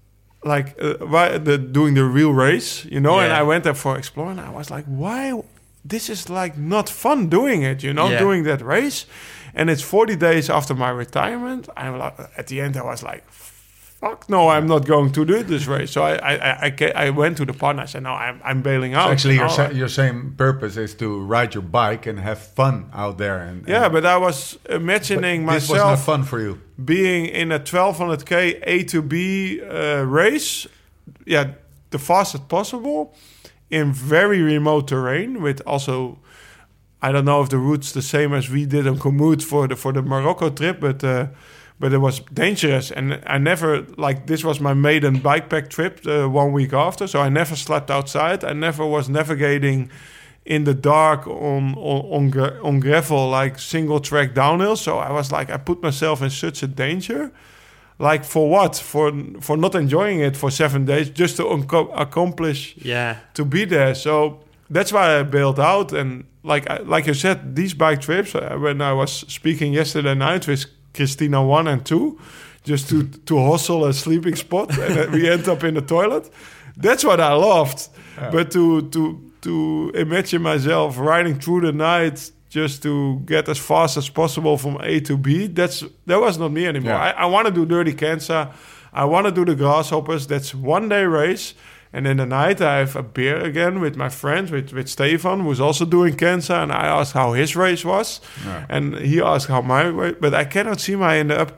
Doing the real race, and I went there for exploring. I was like, why? This is not fun doing it, doing that race. And it's 40 days after my retirement. I'm at the end, I was like, fuck no, I'm not going to do this race. So I went to the partner. I said, no, I'm bailing out.
So actually, your same purpose is to ride your bike and have fun out there.
But I was imagining myself.
This was not fun for you.
Being in a 1,200K A to B race, the fastest possible, in very remote terrain with also, I don't know if the route's the same as we did on Komoot for the Morocco trip, but it was dangerous. And I never, this was my maiden bike pack trip 1 week after, so I never slept outside. I never was navigating in the dark on gravel, single track downhill. So I was I put myself in such a danger. For what? For not enjoying it for 7 days, just to accomplish, to be there. So that's why I bailed out. And like you said, these bike trips, when I was speaking yesterday night with Christina 1 and 2 just to hustle a sleeping spot, and then we end up in the toilet. That's what I loved.
Yeah.
But to imagine myself riding through the night just to get as fast as possible from A to B, that was not me anymore.
Yeah.
I want to do Dirty Kansas. I want to do the Grasshoppers. That's one day race. And in the night, I have a beer again with my friends, with Stefan, who's also doing Kansas. And I asked how his race was.
Yeah.
And he asked how my race. But I cannot see my in the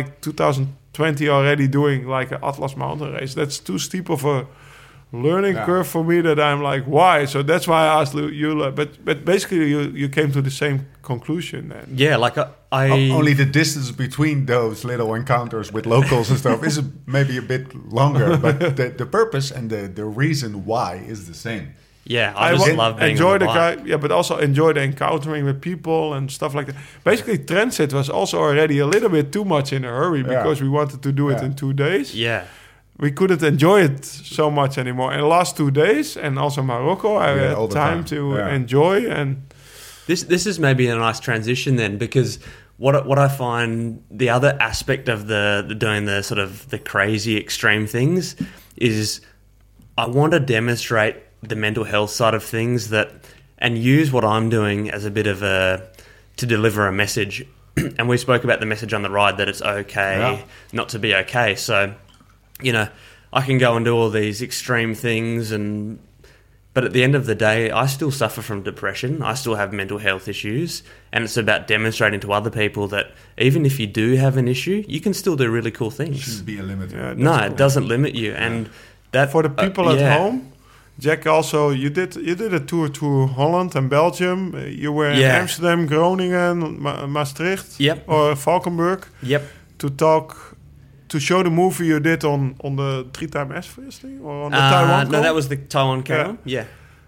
2020 already doing like an Atlas Mountain race. That's too steep of a learning curve for me that I'm like, why? So that's why I asked you. But basically, you came to the same conclusion then.
Yeah, like I
Only the distance between those little encounters with locals and stuff is maybe a bit longer, but the purpose and the reason why is the same.
Yeah, I just love being
enjoy
on the bike.
guy, but also enjoy the encountering with people and stuff like that. Basically, Transit was also already a little bit too much in a hurry because we wanted to do it in 2 days.
Yeah.
We couldn't enjoy it so much anymore. In the last 2 days, and also Morocco, I
all
had
the
time to enjoy. And
This is maybe a nice transition then, because what I find the other aspect of the doing the sort of the crazy extreme things is I want to demonstrate the mental health side of things and use what I'm doing as a bit of to deliver a message. And we spoke about the message on the ride that it's okay not to be okay. So, I can go and do all these extreme things but at the end of the day, I still suffer from depression. I still have mental health issues. And it's about demonstrating to other people that even if you do have an issue, you can still do really cool things.
Shouldn't be a limit.
No, it doesn't limit you. And that
for the people at home, Jack, also you did a tour to Holland and Belgium. You were in Amsterdam, Groningen, Maastricht, or Valkenburg.
Yep.
To show the movie you did on the 3x S thing or on the Taiwan.
No, that was the Taiwan Con. Yeah.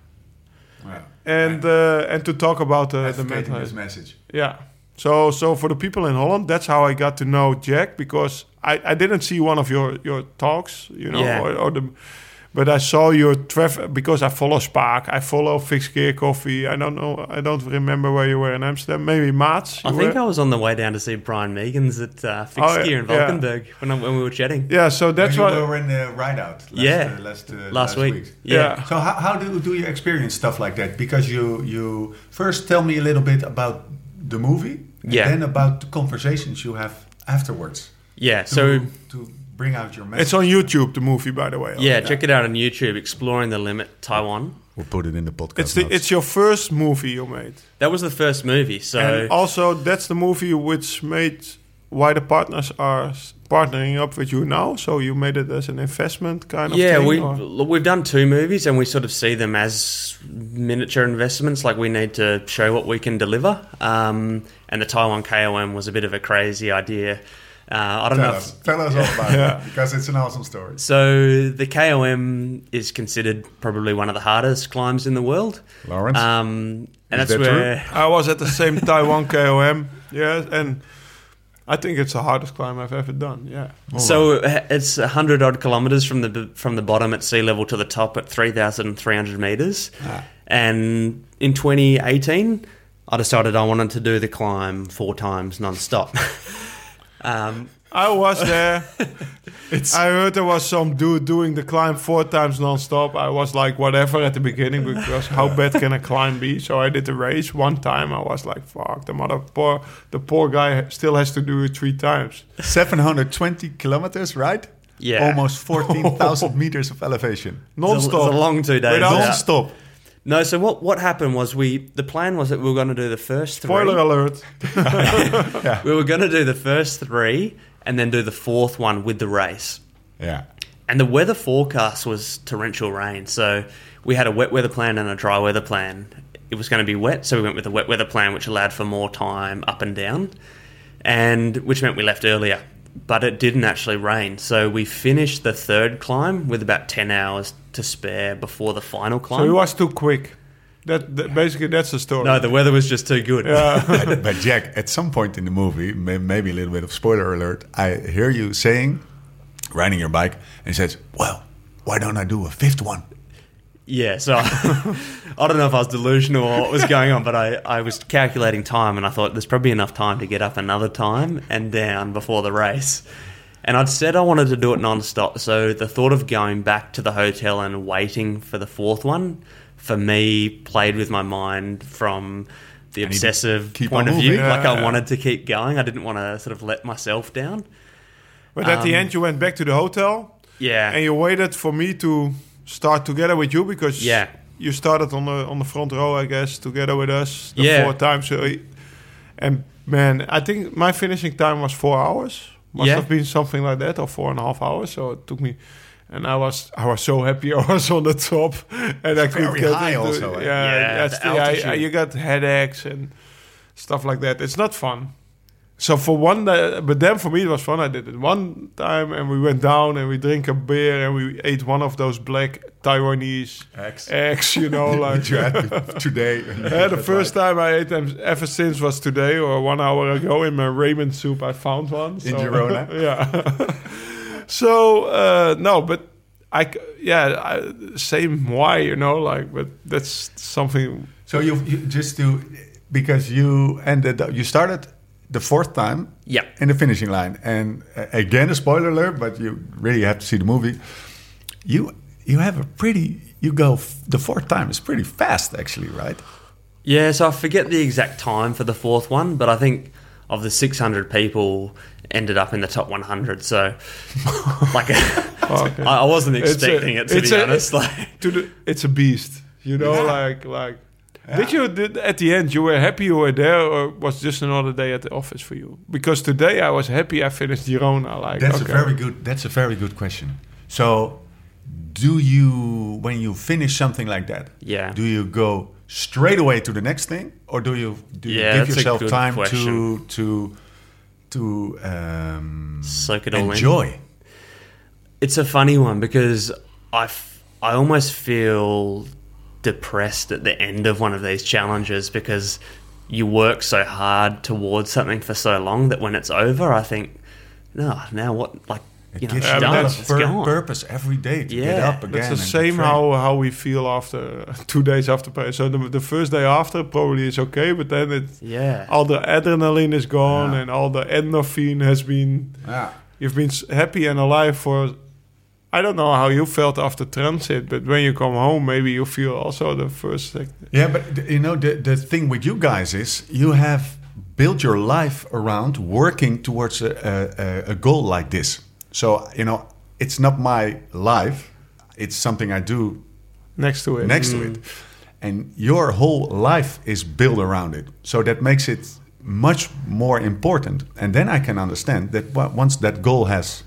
And to talk about the mental
this message.
Yeah. So for the people in Holland, that's how I got to know Jack, because I didn't see one of your talks, but I saw your because I follow Spaak, I follow Fixed Gear Coffee. I don't remember where you were in Amsterdam. Maybe Maats.
I think I was on the way down to see Brian Meegans at Fixed Gear in Valkenburg when we were chatting.
Yeah, so that's why
we were in the ride out. Last week.
Yeah.
So how do you experience stuff like that? Because you first tell me a little bit about the movie, and then about the conversations you have afterwards.
Yeah.
To bring out your message.
It's on YouTube, the movie, by the way.
Yeah, check it out on YouTube, Exploring the Limit Taiwan.
We'll put it in the podcast.
It's your first movie you made.
That was the first movie. So
and also that's the movie which made why the partners are partnering up with you now. So you made it as an investment kind of thing?
Yeah, we've done 2 movies and we sort of see them as miniature investments. Like we need to show what we can deliver. And the Taiwan KOM was a bit of a crazy idea. I don't know.
Tell us all about it, because it's an awesome story.
So the KOM is considered probably one of the hardest climbs in the world.
Lawrence?
And that's where
I was at the same Taiwan KOM. Yeah, and I think it's the hardest climb I've ever done. Yeah.
So it's 100 odd kilometers from the bottom at sea level to the top at 3,300 meters. And in 2018, I decided I wanted to do the climb 4 times non-stop.
I was there. I heard there was some dude doing the climb 4 times non-stop. I was like, whatever at the beginning, because how bad can a climb be? So I did the race 1 time. I was like, fuck, the poor guy still has to do it 3 times.
720 kilometers, right?
Yeah.
Almost 14,000 meters of elevation.
Non-stop.
It's a long 2 days.
Non-stop.
No, so what happened was the plan was that we were going to do the first 3.
Spoiler alert.
We were going to do the first 3 and then do the 4th one with the race.
Yeah.
And the weather forecast was torrential rain. So we had a wet weather plan and a dry weather plan. It was going to be wet, so we went with the wet weather plan, which allowed for more time up and down, and which meant we left earlier. But it didn't actually rain. So we finished the 3rd climb with about 10 hours to spare before the final climb.
So it was too quick. Basically, that's the story.
No, the weather was just too good.
Yeah.
But Jack, at some point in the movie, maybe a little bit of spoiler alert, I hear you saying, riding your bike, and he says, well, why don't I do a 5th one?
Yeah, so I don't know if I was delusional or what was going on, but I was calculating time and I thought there's probably enough time to get up another time and down before the race. And I'd said I wanted to do it non-stop, so the thought of going back to the hotel and waiting for the fourth one, for me, played with my mind from the obsessive point of view.
Yeah,
I wanted to keep going. I didn't want to sort of let myself down.
But at the end, you went back to the hotel.
Yeah.
And you waited for me to start together with you because you started on the front row, I guess, together with us the 4 times. And man, I think my finishing time was 4 hours. Must have been something like that, or 4.5 hours. So it took me, and I was so happy I was on the top, and I could get
high
into,
also.
you got headaches and stuff like that. It's not fun. So for one day, but then for me it was fun. I did it one time, and we went down and we drink a beer and we ate one of those black Taiwanese eggs, you know, like
you had today.
The first time I ate them ever since was today or 1 hour ago in my ramen soup. I found one
in Girona.
Yeah. So no, but same why, you know, like, but that's something.
So you just to because you started the 4th time in the finishing line, and again a spoiler alert, but you really have to see the movie. You have the 4th time is pretty fast actually, right?
Yeah, so I forget the exact time for the 4th one, but I think of the 600 people ended up in the top 100. So like I wasn't expecting it, to be honest.
It's a beast, you know, like. Did at the end you were happy you were there, or was just another day at the office for you? Because today I was happy I finished Girona.
That's a very good question. So, do you, when you finish something like that, do you go straight away to the next thing, or do you give yourself time to
soak it all
enjoy?
In? It's a funny one because I almost feel depressed at the end of one of these challenges because you work so hard towards something for so long that when it's over, I think, now what? Like,
it gives you that purpose every day to get up again.
That's the same how we feel after 2 days after play. So the first day after probably is okay, but then all the adrenaline is gone and all the endorphin has been. Yeah. You've been happy and alive for. I don't know how you felt after transit, but when you come home, maybe you feel also the first thing.
Yeah, but you know, the thing with you guys is you have built your life around working towards a goal like this. So, you know, it's not my life. It's something I do
next to it.
And your whole life is built around it. So that makes it much more important. And then I can understand that once that goal has...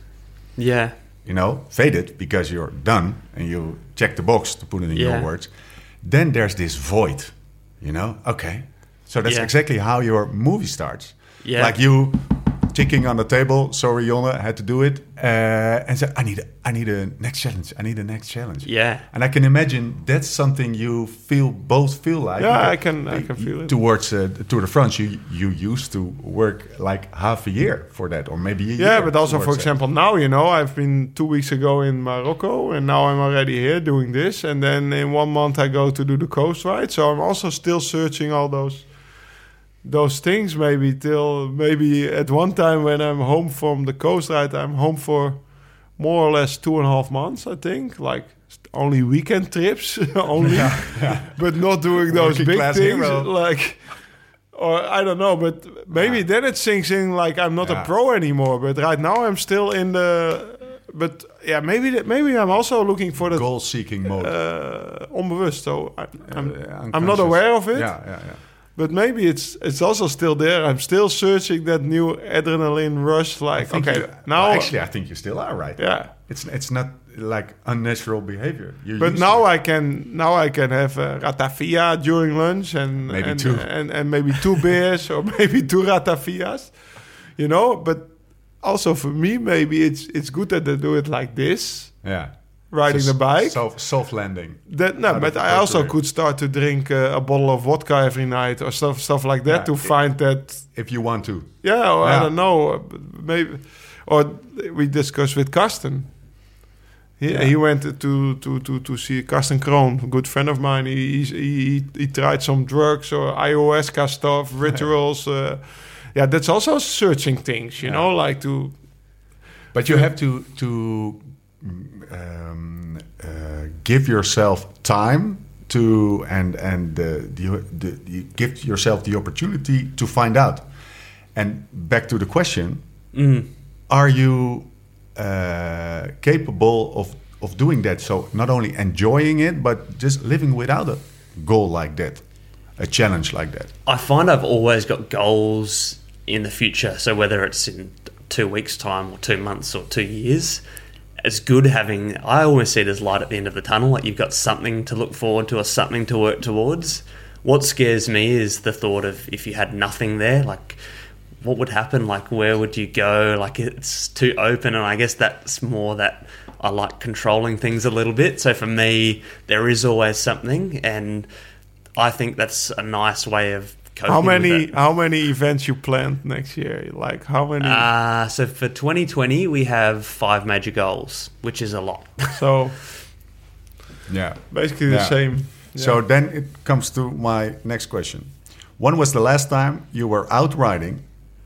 faded because you're done and you check the box, to put it in your words, then there's this void, you know? Okay. So that's exactly how your movie starts. Yeah. Like you ticking on the table, sorry, Jonne, had to do it, and said, I need a next challenge. I need a next challenge.
Yeah.
And I can imagine that's something you both feel like.
Yeah, I can feel it.
Towards Tour de France, you used to work like half a year for that, or maybe a year.
Yeah, but also, for example, now, you know, I've been 2 weeks ago in Morocco, and now I'm already here doing this, and then in 1 month I go to do the coast ride, so I'm also still searching all those things maybe at one time when I'm home from the coast ride, I'm home for more or less 2.5 months, I think, like only weekend trips but not doing those big things like, or I don't know, but maybe then it sinks in like I'm not a pro anymore, but right now I'm still in but yeah, maybe I'm also looking for the
goal-seeking mode,
onbewust, so I'm not aware of it.
Yeah.
But maybe it's also still there. I'm still searching that new adrenaline rush. Like, now...
actually, I think you still are, right?
Yeah.
It's not like unnatural behavior.
But now I can have ratafia during lunch and
maybe two.
And maybe 2 beers or maybe 2 ratafias, you know. But also for me, maybe it's good that they do it like this.
Yeah.
Riding the bike,
soft landing.
But I also could start to drink a bottle of vodka every night or stuff like that to find that.
If you want to,
I don't know, maybe. Or we discussed with Karsten. He went to see Karsten Kroon, a good friend of mine. He tried some drugs or ayahuasca stuff, rituals. That's also searching things, you know, like to.
But you have to give yourself time to you give yourself the opportunity to find out. And back to the question: are you capable of doing that? So not only enjoying it, but just living without a goal like that, a challenge like that.
I find I've always got goals in the future. So whether it's in 2 weeks' time or 2 months or 2 years, it's good having. I always see it as light at the end of the tunnel. Like you've got something to look forward to or something to work towards. What scares me is the thought of if you had nothing there, like. What would happen? Like, where would you go? Like, it's too open, and I guess that's more that I like controlling things a little bit. So for me, there is always something, and I think that's a nice way of coping with it.
How many events you planned next year? Like, how many?
So for 2020, we have 5 major goals, which is a lot.
So,
Yeah.
basically the same. Yeah.
So then it comes to my next question. When was the last time you were out riding,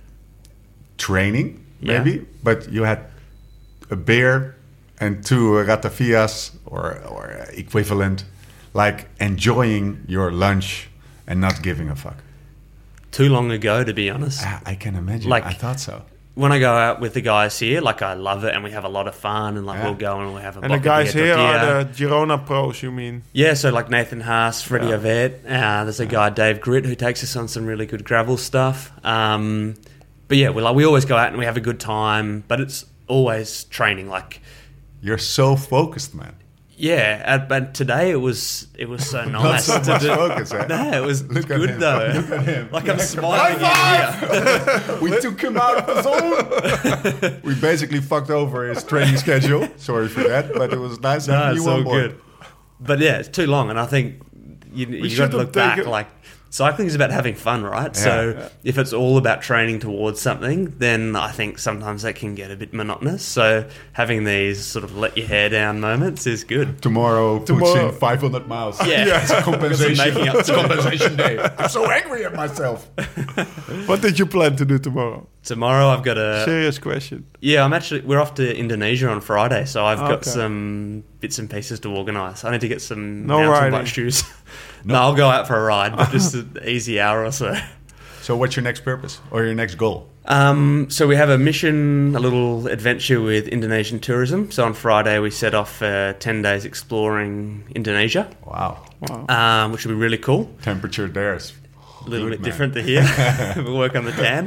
training maybe, but you had a beer and 2 ratafias or equivalent, like enjoying your lunch and not giving a fuck?
Too long ago, to be honest.
I can imagine.
Like,
I thought so.
When I go out with the guys here, like I love it, and we have a lot of fun, and like we'll go and we'll have a.
And the guys here are the Girona pros, you mean?
Yeah, so like Nathan Haas, Freddie Avet, there's a guy Dave Grit who takes us on some really good gravel stuff. But yeah, we always go out and we have a good time, but it's always training. Like
you're so focused, man.
Yeah, but today it was so nice.
Not so much focus, eh?
No, it was
Look at
good
him.
though.
Look at him.
Like I'm smiling in here.
We took him out of the zone. We basically fucked over his training schedule. Sorry for that, but it was nice having you
it's
on
all
board.
good. But yeah, it's too long, and I think you got to look back. Like cycling is about having fun, right?
Yeah.
So if it's all about training towards something, then I think sometimes that can get a bit monotonous. So having these sort of let your hair down moments is good.
Tomorrow puts in 500 miles.
Yeah.
It's a compensation.
Making up
It's a compensation day. I'm so angry at myself.
What did you plan to do tomorrow?
Tomorrow I've got a
Serious question.
Yeah, we're off to Indonesia on Friday, so I've got some bits and pieces to organise. I need to get some mountain bike shoes. No, I'll go out for a ride, but just an easy hour or so.
So what's your next purpose or your next goal?
So we have a mission, a little adventure with Indonesian tourism. So on Friday we set off 10 days exploring Indonesia.
Wow.
Which will be really cool.
Temperature there is
a little bit different to here. We'll work on the tan.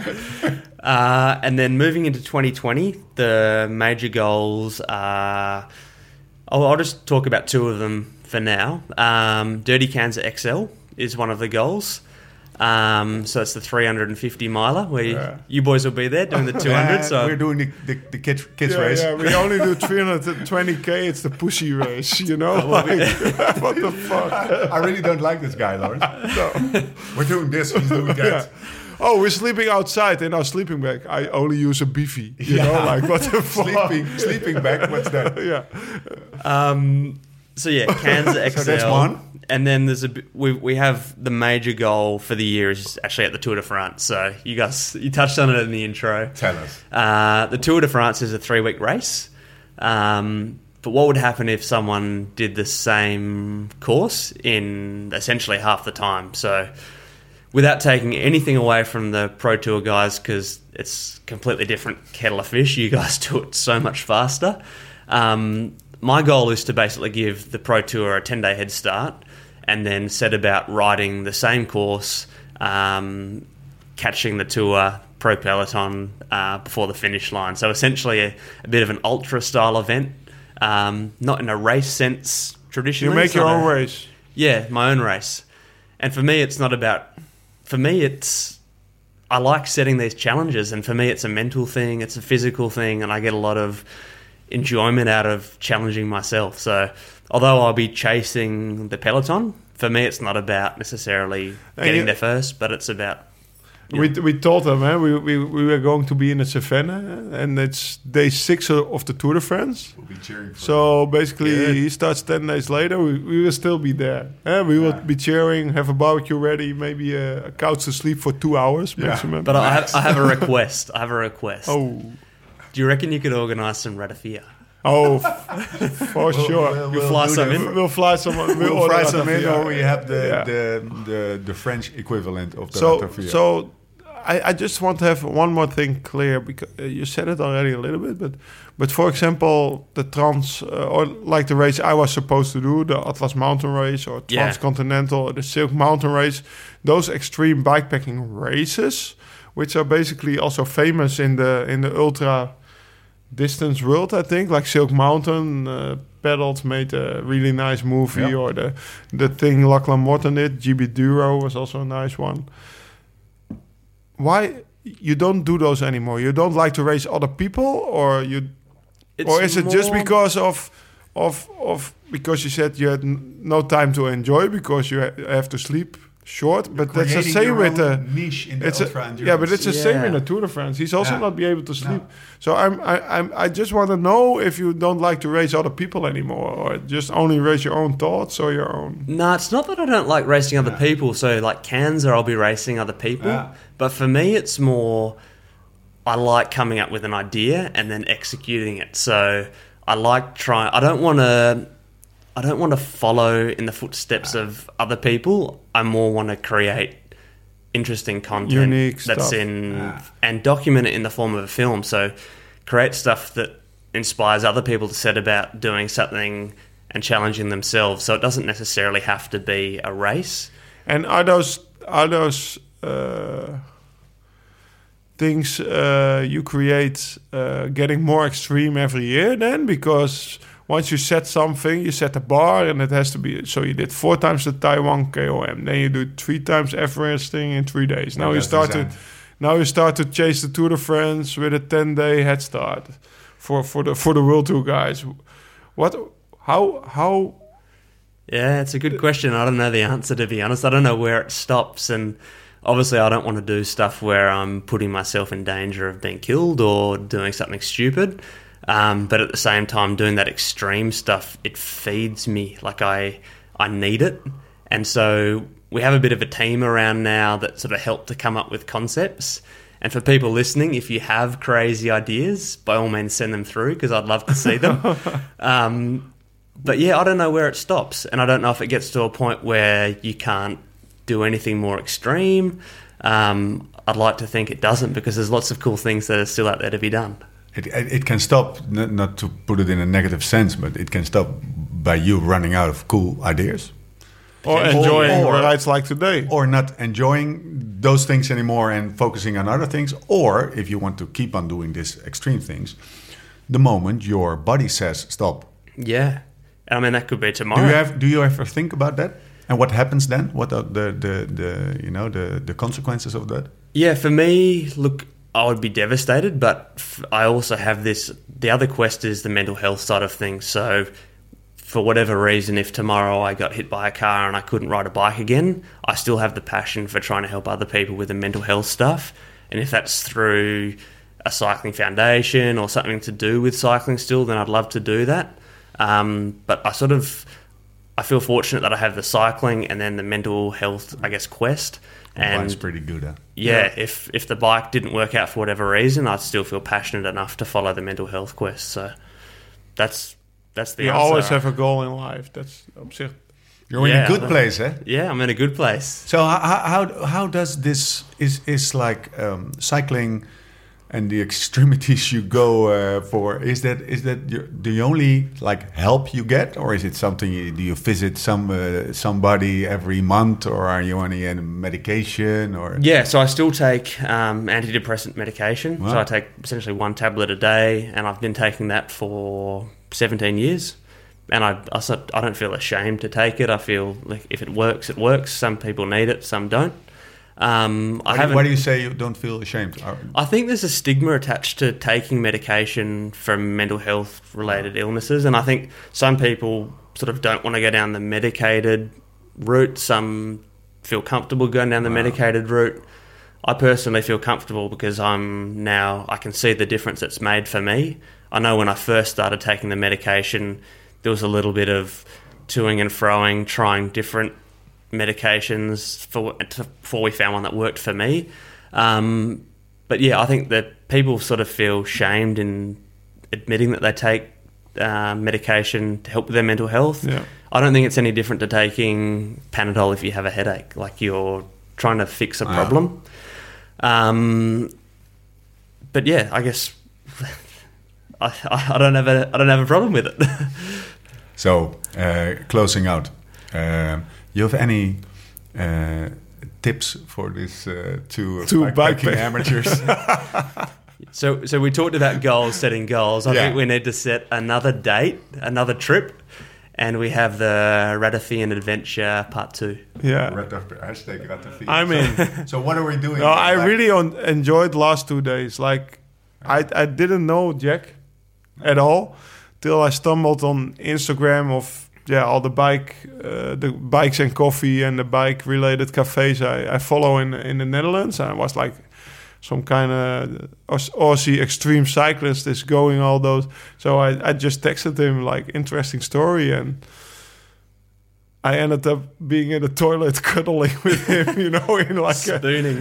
And then moving into 2020, the major goals are... I'll just talk about 2 of them for now. Dirty Kansas XL is one of the goals. So it's the 350 miler where you boys will be there doing the 200. So
we're doing the kids race.
Yeah, we only do 320k. It's the pussy race, you know. Like, what the fuck?
I really don't like this guy, Lawrence.
No.
We're doing this. He's doing that.
Yeah. Oh, we're sleeping outside in our sleeping bag. I only use a beefy. You know, like what the fuck?
Sleeping bag. What's that?
Yeah.
So yeah, Kansas XL.
So that's one.
And then there's we have the major goal for the year is actually at the Tour de France. So you touched on it in the intro.
Tell us.
The Tour de France is a 3-week race. But what would happen if someone did the same course in essentially half the time? So without taking anything away from the Pro Tour guys, because it's completely different kettle of fish, you guys do it so much faster. My goal is to basically give the Pro Tour a 10-day head start and then set about riding the same course, catching the Tour Pro Peloton before the finish line. So essentially a bit of an ultra-style event, not in a race sense traditionally.
You make your own race.
Yeah, my own race. And for me, it's not about... For me, it's... I like setting these challenges, and for me, it's a mental thing, it's a physical thing, and I get a lot of enjoyment out of challenging myself. So although I'll be chasing the peloton, for me it's not about necessarily getting there first, but it's about
We told them we were going to be in the savannah, and it's day 6 of the Tour de France.
We'll be cheering for
So basically,
Good.
he starts 10 days later. We will still be there. We will be cheering, have a barbecue ready, maybe a couch to sleep for 2 hours maximum.
But I have a request.
oh,
Do you reckon you could organise some ratafia?
for sure.
You'll fly some in?
We'll fly some.
We'll
order
fry some in,
ratafia.
or we have
Yeah.
the French equivalent of the
So,
ratafia.
so I just want to have one more thing clear, because you said it already a little bit, but for example, the or like the race I was supposed to do, the Atlas Mountain Race or
Yeah.
Transcontinental or the Silk Mountain Race, those extreme bikepacking races, which are basically also famous in the ultra distance world, I think, like Silk Mountain. Pedals made a really nice movie,
Yeah.
or the thing Lachlan Morton did, GB Duro was also a nice one. Why you don't do those anymore? You don't like to race other people, or is it just because of because you said you had no time to enjoy because you have to sleep short? But that's the same with the
niche in the
it's a,
ultra endurance.
yeah, but it's the same
Yeah.
in the Tour de France. He's also
Yeah.
not be able to sleep.
No.
So I just want to know if you don't like to race other people anymore, or just only race your own thoughts or your own.
No, it's not that I don't like racing other people. So like Kansas, I'll be racing other people.
Yeah.
But for me, it's more I like coming up with an idea and then executing it. So I like trying. I don't want to follow in the footsteps of other people. I more want to create interesting content
Unique
that's
stuff.
and document it in the form of a film. So create stuff that inspires other people to set about doing something and challenging themselves. So it doesn't necessarily have to be a race.
And are those things you create getting more extreme every year then? Because once you set something, you set a bar, and it has to be. So you did 4 times the Taiwan KOM, then you do 3 times everything in 3 days. Now you start to chase the Tour de France with a 10-day head start for the World Tour guys. How?
Yeah, it's a good question. I don't know the answer, to be honest. I don't know where it stops, and obviously I don't want to do stuff where I'm putting myself in danger of being killed or doing something stupid. But at the same time, doing that extreme stuff, it feeds me. Like I need it. And so we have a bit of a team around now that sort of help to come up with concepts. And for people listening, if you have crazy ideas, by all means send them through, because I'd love to see them. But yeah, I don't know where it stops. And I don't know if it gets to a point where you can't do anything more extreme. I'd like to think it doesn't, because there's lots of cool things that are still out there to be done.
It can stop, not to put it in a negative sense, but it can stop by you running out of cool ideas.
Or enjoying
Or-
rides like today.
Or not enjoying those things anymore and focusing on other things. Or if you want to keep on doing these extreme things, the moment your body says stop.
Yeah. I mean, that could be tomorrow.
Do you ever think about that? And what happens then? What are the consequences of that?
Yeah, for me, look, I would be devastated, but I also have the other quest is the mental health side of things. So for whatever reason, if tomorrow I got hit by a car and I couldn't ride a bike again, I still have the passion for trying to help other people with the mental health stuff. And if that's through a cycling foundation or something to do with cycling still, then I'd love to do that. But I feel fortunate that I have the cycling and then the mental health, I guess, quest. And
That's pretty good. Huh?
yeah, if the bike didn't work out for whatever reason, I'd still feel passionate enough to follow the mental health quest. So that's the
You
answer.
always have a goal in life. That's op zich.
You're in a good place, eh?
Yeah, I'm in a good place.
So how does this is like cycling and the extremities you go for? Is that the only like help you get, or is it something? Do you visit somebody every month, or are you on any medication? Or
Yeah, so I still take antidepressant medication.
Wow.
So I take essentially 1 tablet a day, and I've been taking that for 17 years. And I don't feel ashamed to take it. I feel like if it works, it works. Some people need it, some don't.
why do you say you don't feel ashamed?
I think there's a stigma attached to taking medication for mental health related illnesses, and I think some people sort of don't want to go down the medicated route. Some feel comfortable going down the medicated route. I personally feel comfortable because I can see the difference it's made for me. I know when I first started taking the medication, there was a little bit of toing and froing, trying different medications before we found one that worked for me. But yeah, I think that people sort of feel shamed in admitting that they take medication to help with their mental health.
Yeah.
I don't think it's any different to taking Panadol if you have a headache, like you're trying to fix a problem. But yeah, I guess I don't have a problem with it.
So, closing out, you have any tips for these two bikepacking amateurs?
So we talked about setting goals. I
Yeah.
think we need to set another date, another trip, and we have the Ratafian Adventure Part 2.
Yeah.
#Ratafian.
I'm in.
So what are we doing?
No, I really enjoyed the last 2 days. Like, I didn't know Jack at all till I stumbled on Instagram of all the bikes and coffee and the bike related cafes I follow in the Netherlands. I was like, some kind of Aussie extreme cyclist is going all those. So I just texted him like, interesting story, and I ended up being in the toilet cuddling with him, in like
Spooning.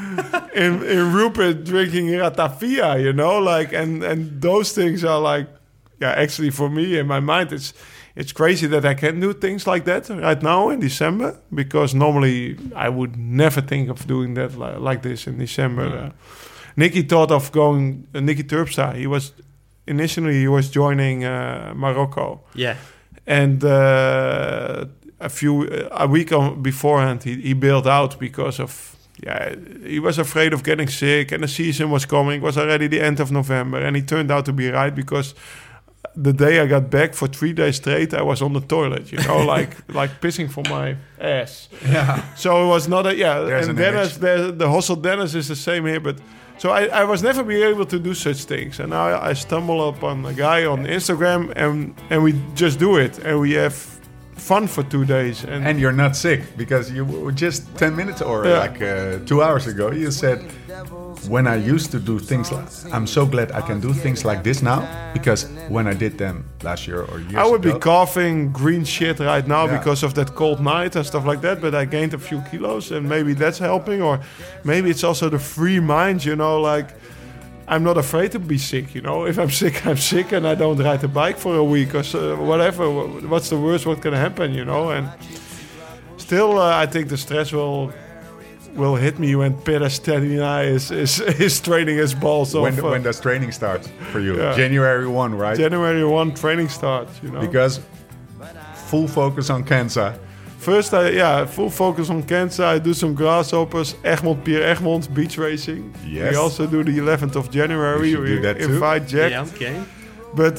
in Rupert drinking ratafia, like, and those things are like, actually for me in my mind it's crazy that I can do things like that right now in December, because normally I would never think of doing that like this in December. Nicky thought of going. Nicky Terpstra. He was joining Morocco.
Yeah.
And a week beforehand, he bailed out because of he was afraid of getting sick, and the season was coming. It was already the end of November, and he turned out to be right, because the day I got back for 3 days straight, I was on the toilet, like pissing for my ass.
Yeah.
So it was not
There's
and
an
Dennis, the hostel Dennis is the same here, but so I was never be able to do such things, and now I stumble upon a guy on Instagram, and we just do it, and we have fun for 2 days,
And you're not sick, because you were just 10 minutes or 2 hours ago, you said, when I used to do things like, I'm so glad I can do things like this now, because when I did them last year or years ago,
I would be coughing green shit right now
Yeah.
because of that cold night and stuff like that, but I gained a few kilos, and maybe that's helping, or maybe it's also the free mind, like, I'm not afraid to be sick, If I'm sick, I'm sick, and I don't ride a bike for a week or so, whatever. What's the worst what can happen, And still, I think the stress will hit me when Perez Stadina is training his balls off.
when does training start for you?
Yeah.
January 1, right?
January 1 training starts,
Because full focus on Kenza.
First, full focus on Kenza. I do some grasshoppers, Pier Egmond, beach racing.
Yes.
We also do the 11th of January.
You should do that too.
Invite Jack.
Yeah, okay.
But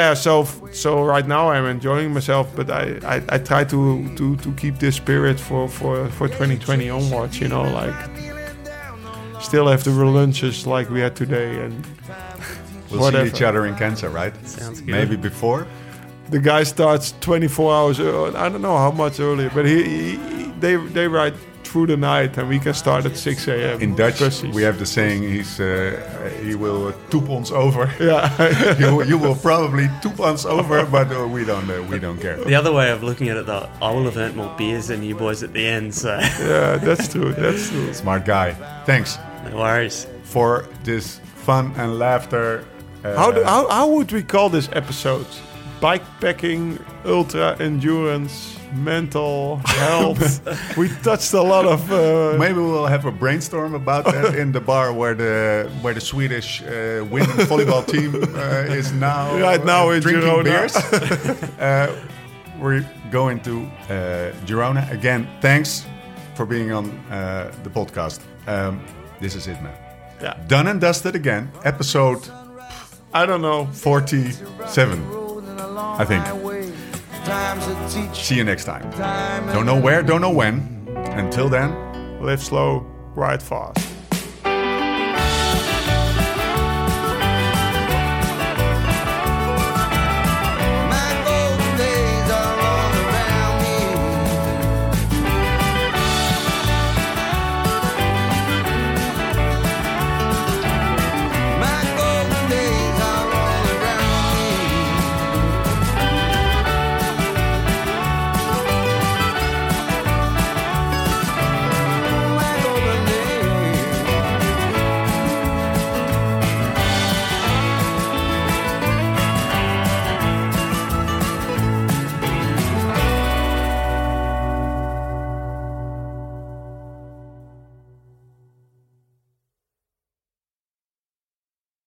so right now I'm enjoying myself. But I try to keep this spirit for 2020 onwards. Like, still have the lunches like we had today, and
We'll
whatever.
see each other in Kenza, right?
Sounds good.
Maybe before.
The guy starts 24 hours early. I don't know how much earlier, but they ride through the night, and we can start at 6 a.m.
In Dutch,
Pussies.
we have the saying, he will toep ons over.
Yeah.
you will probably toep ons over, but we don't care.
The other way of looking at it, though, I will have earned more beers than you boys at the end, so
Yeah, that's true. That's true.
Smart guy. Thanks
no worries.
for this fun and laughter.
How would we call this episode? Bikepacking, ultra endurance, mental health. We touched a lot of.
Maybe we'll have a brainstorm about that in the bar where the Swedish women volleyball team is now.
Right now in
drinking
Girona.
beers. We're going to Girona again. Thanks for being on the podcast. This is it, man.
Yeah.
Done and dusted again. Episode
I don't know.
47, I think. See you next time. Don't know where, don't know when. Until then.
Live slow, ride fast.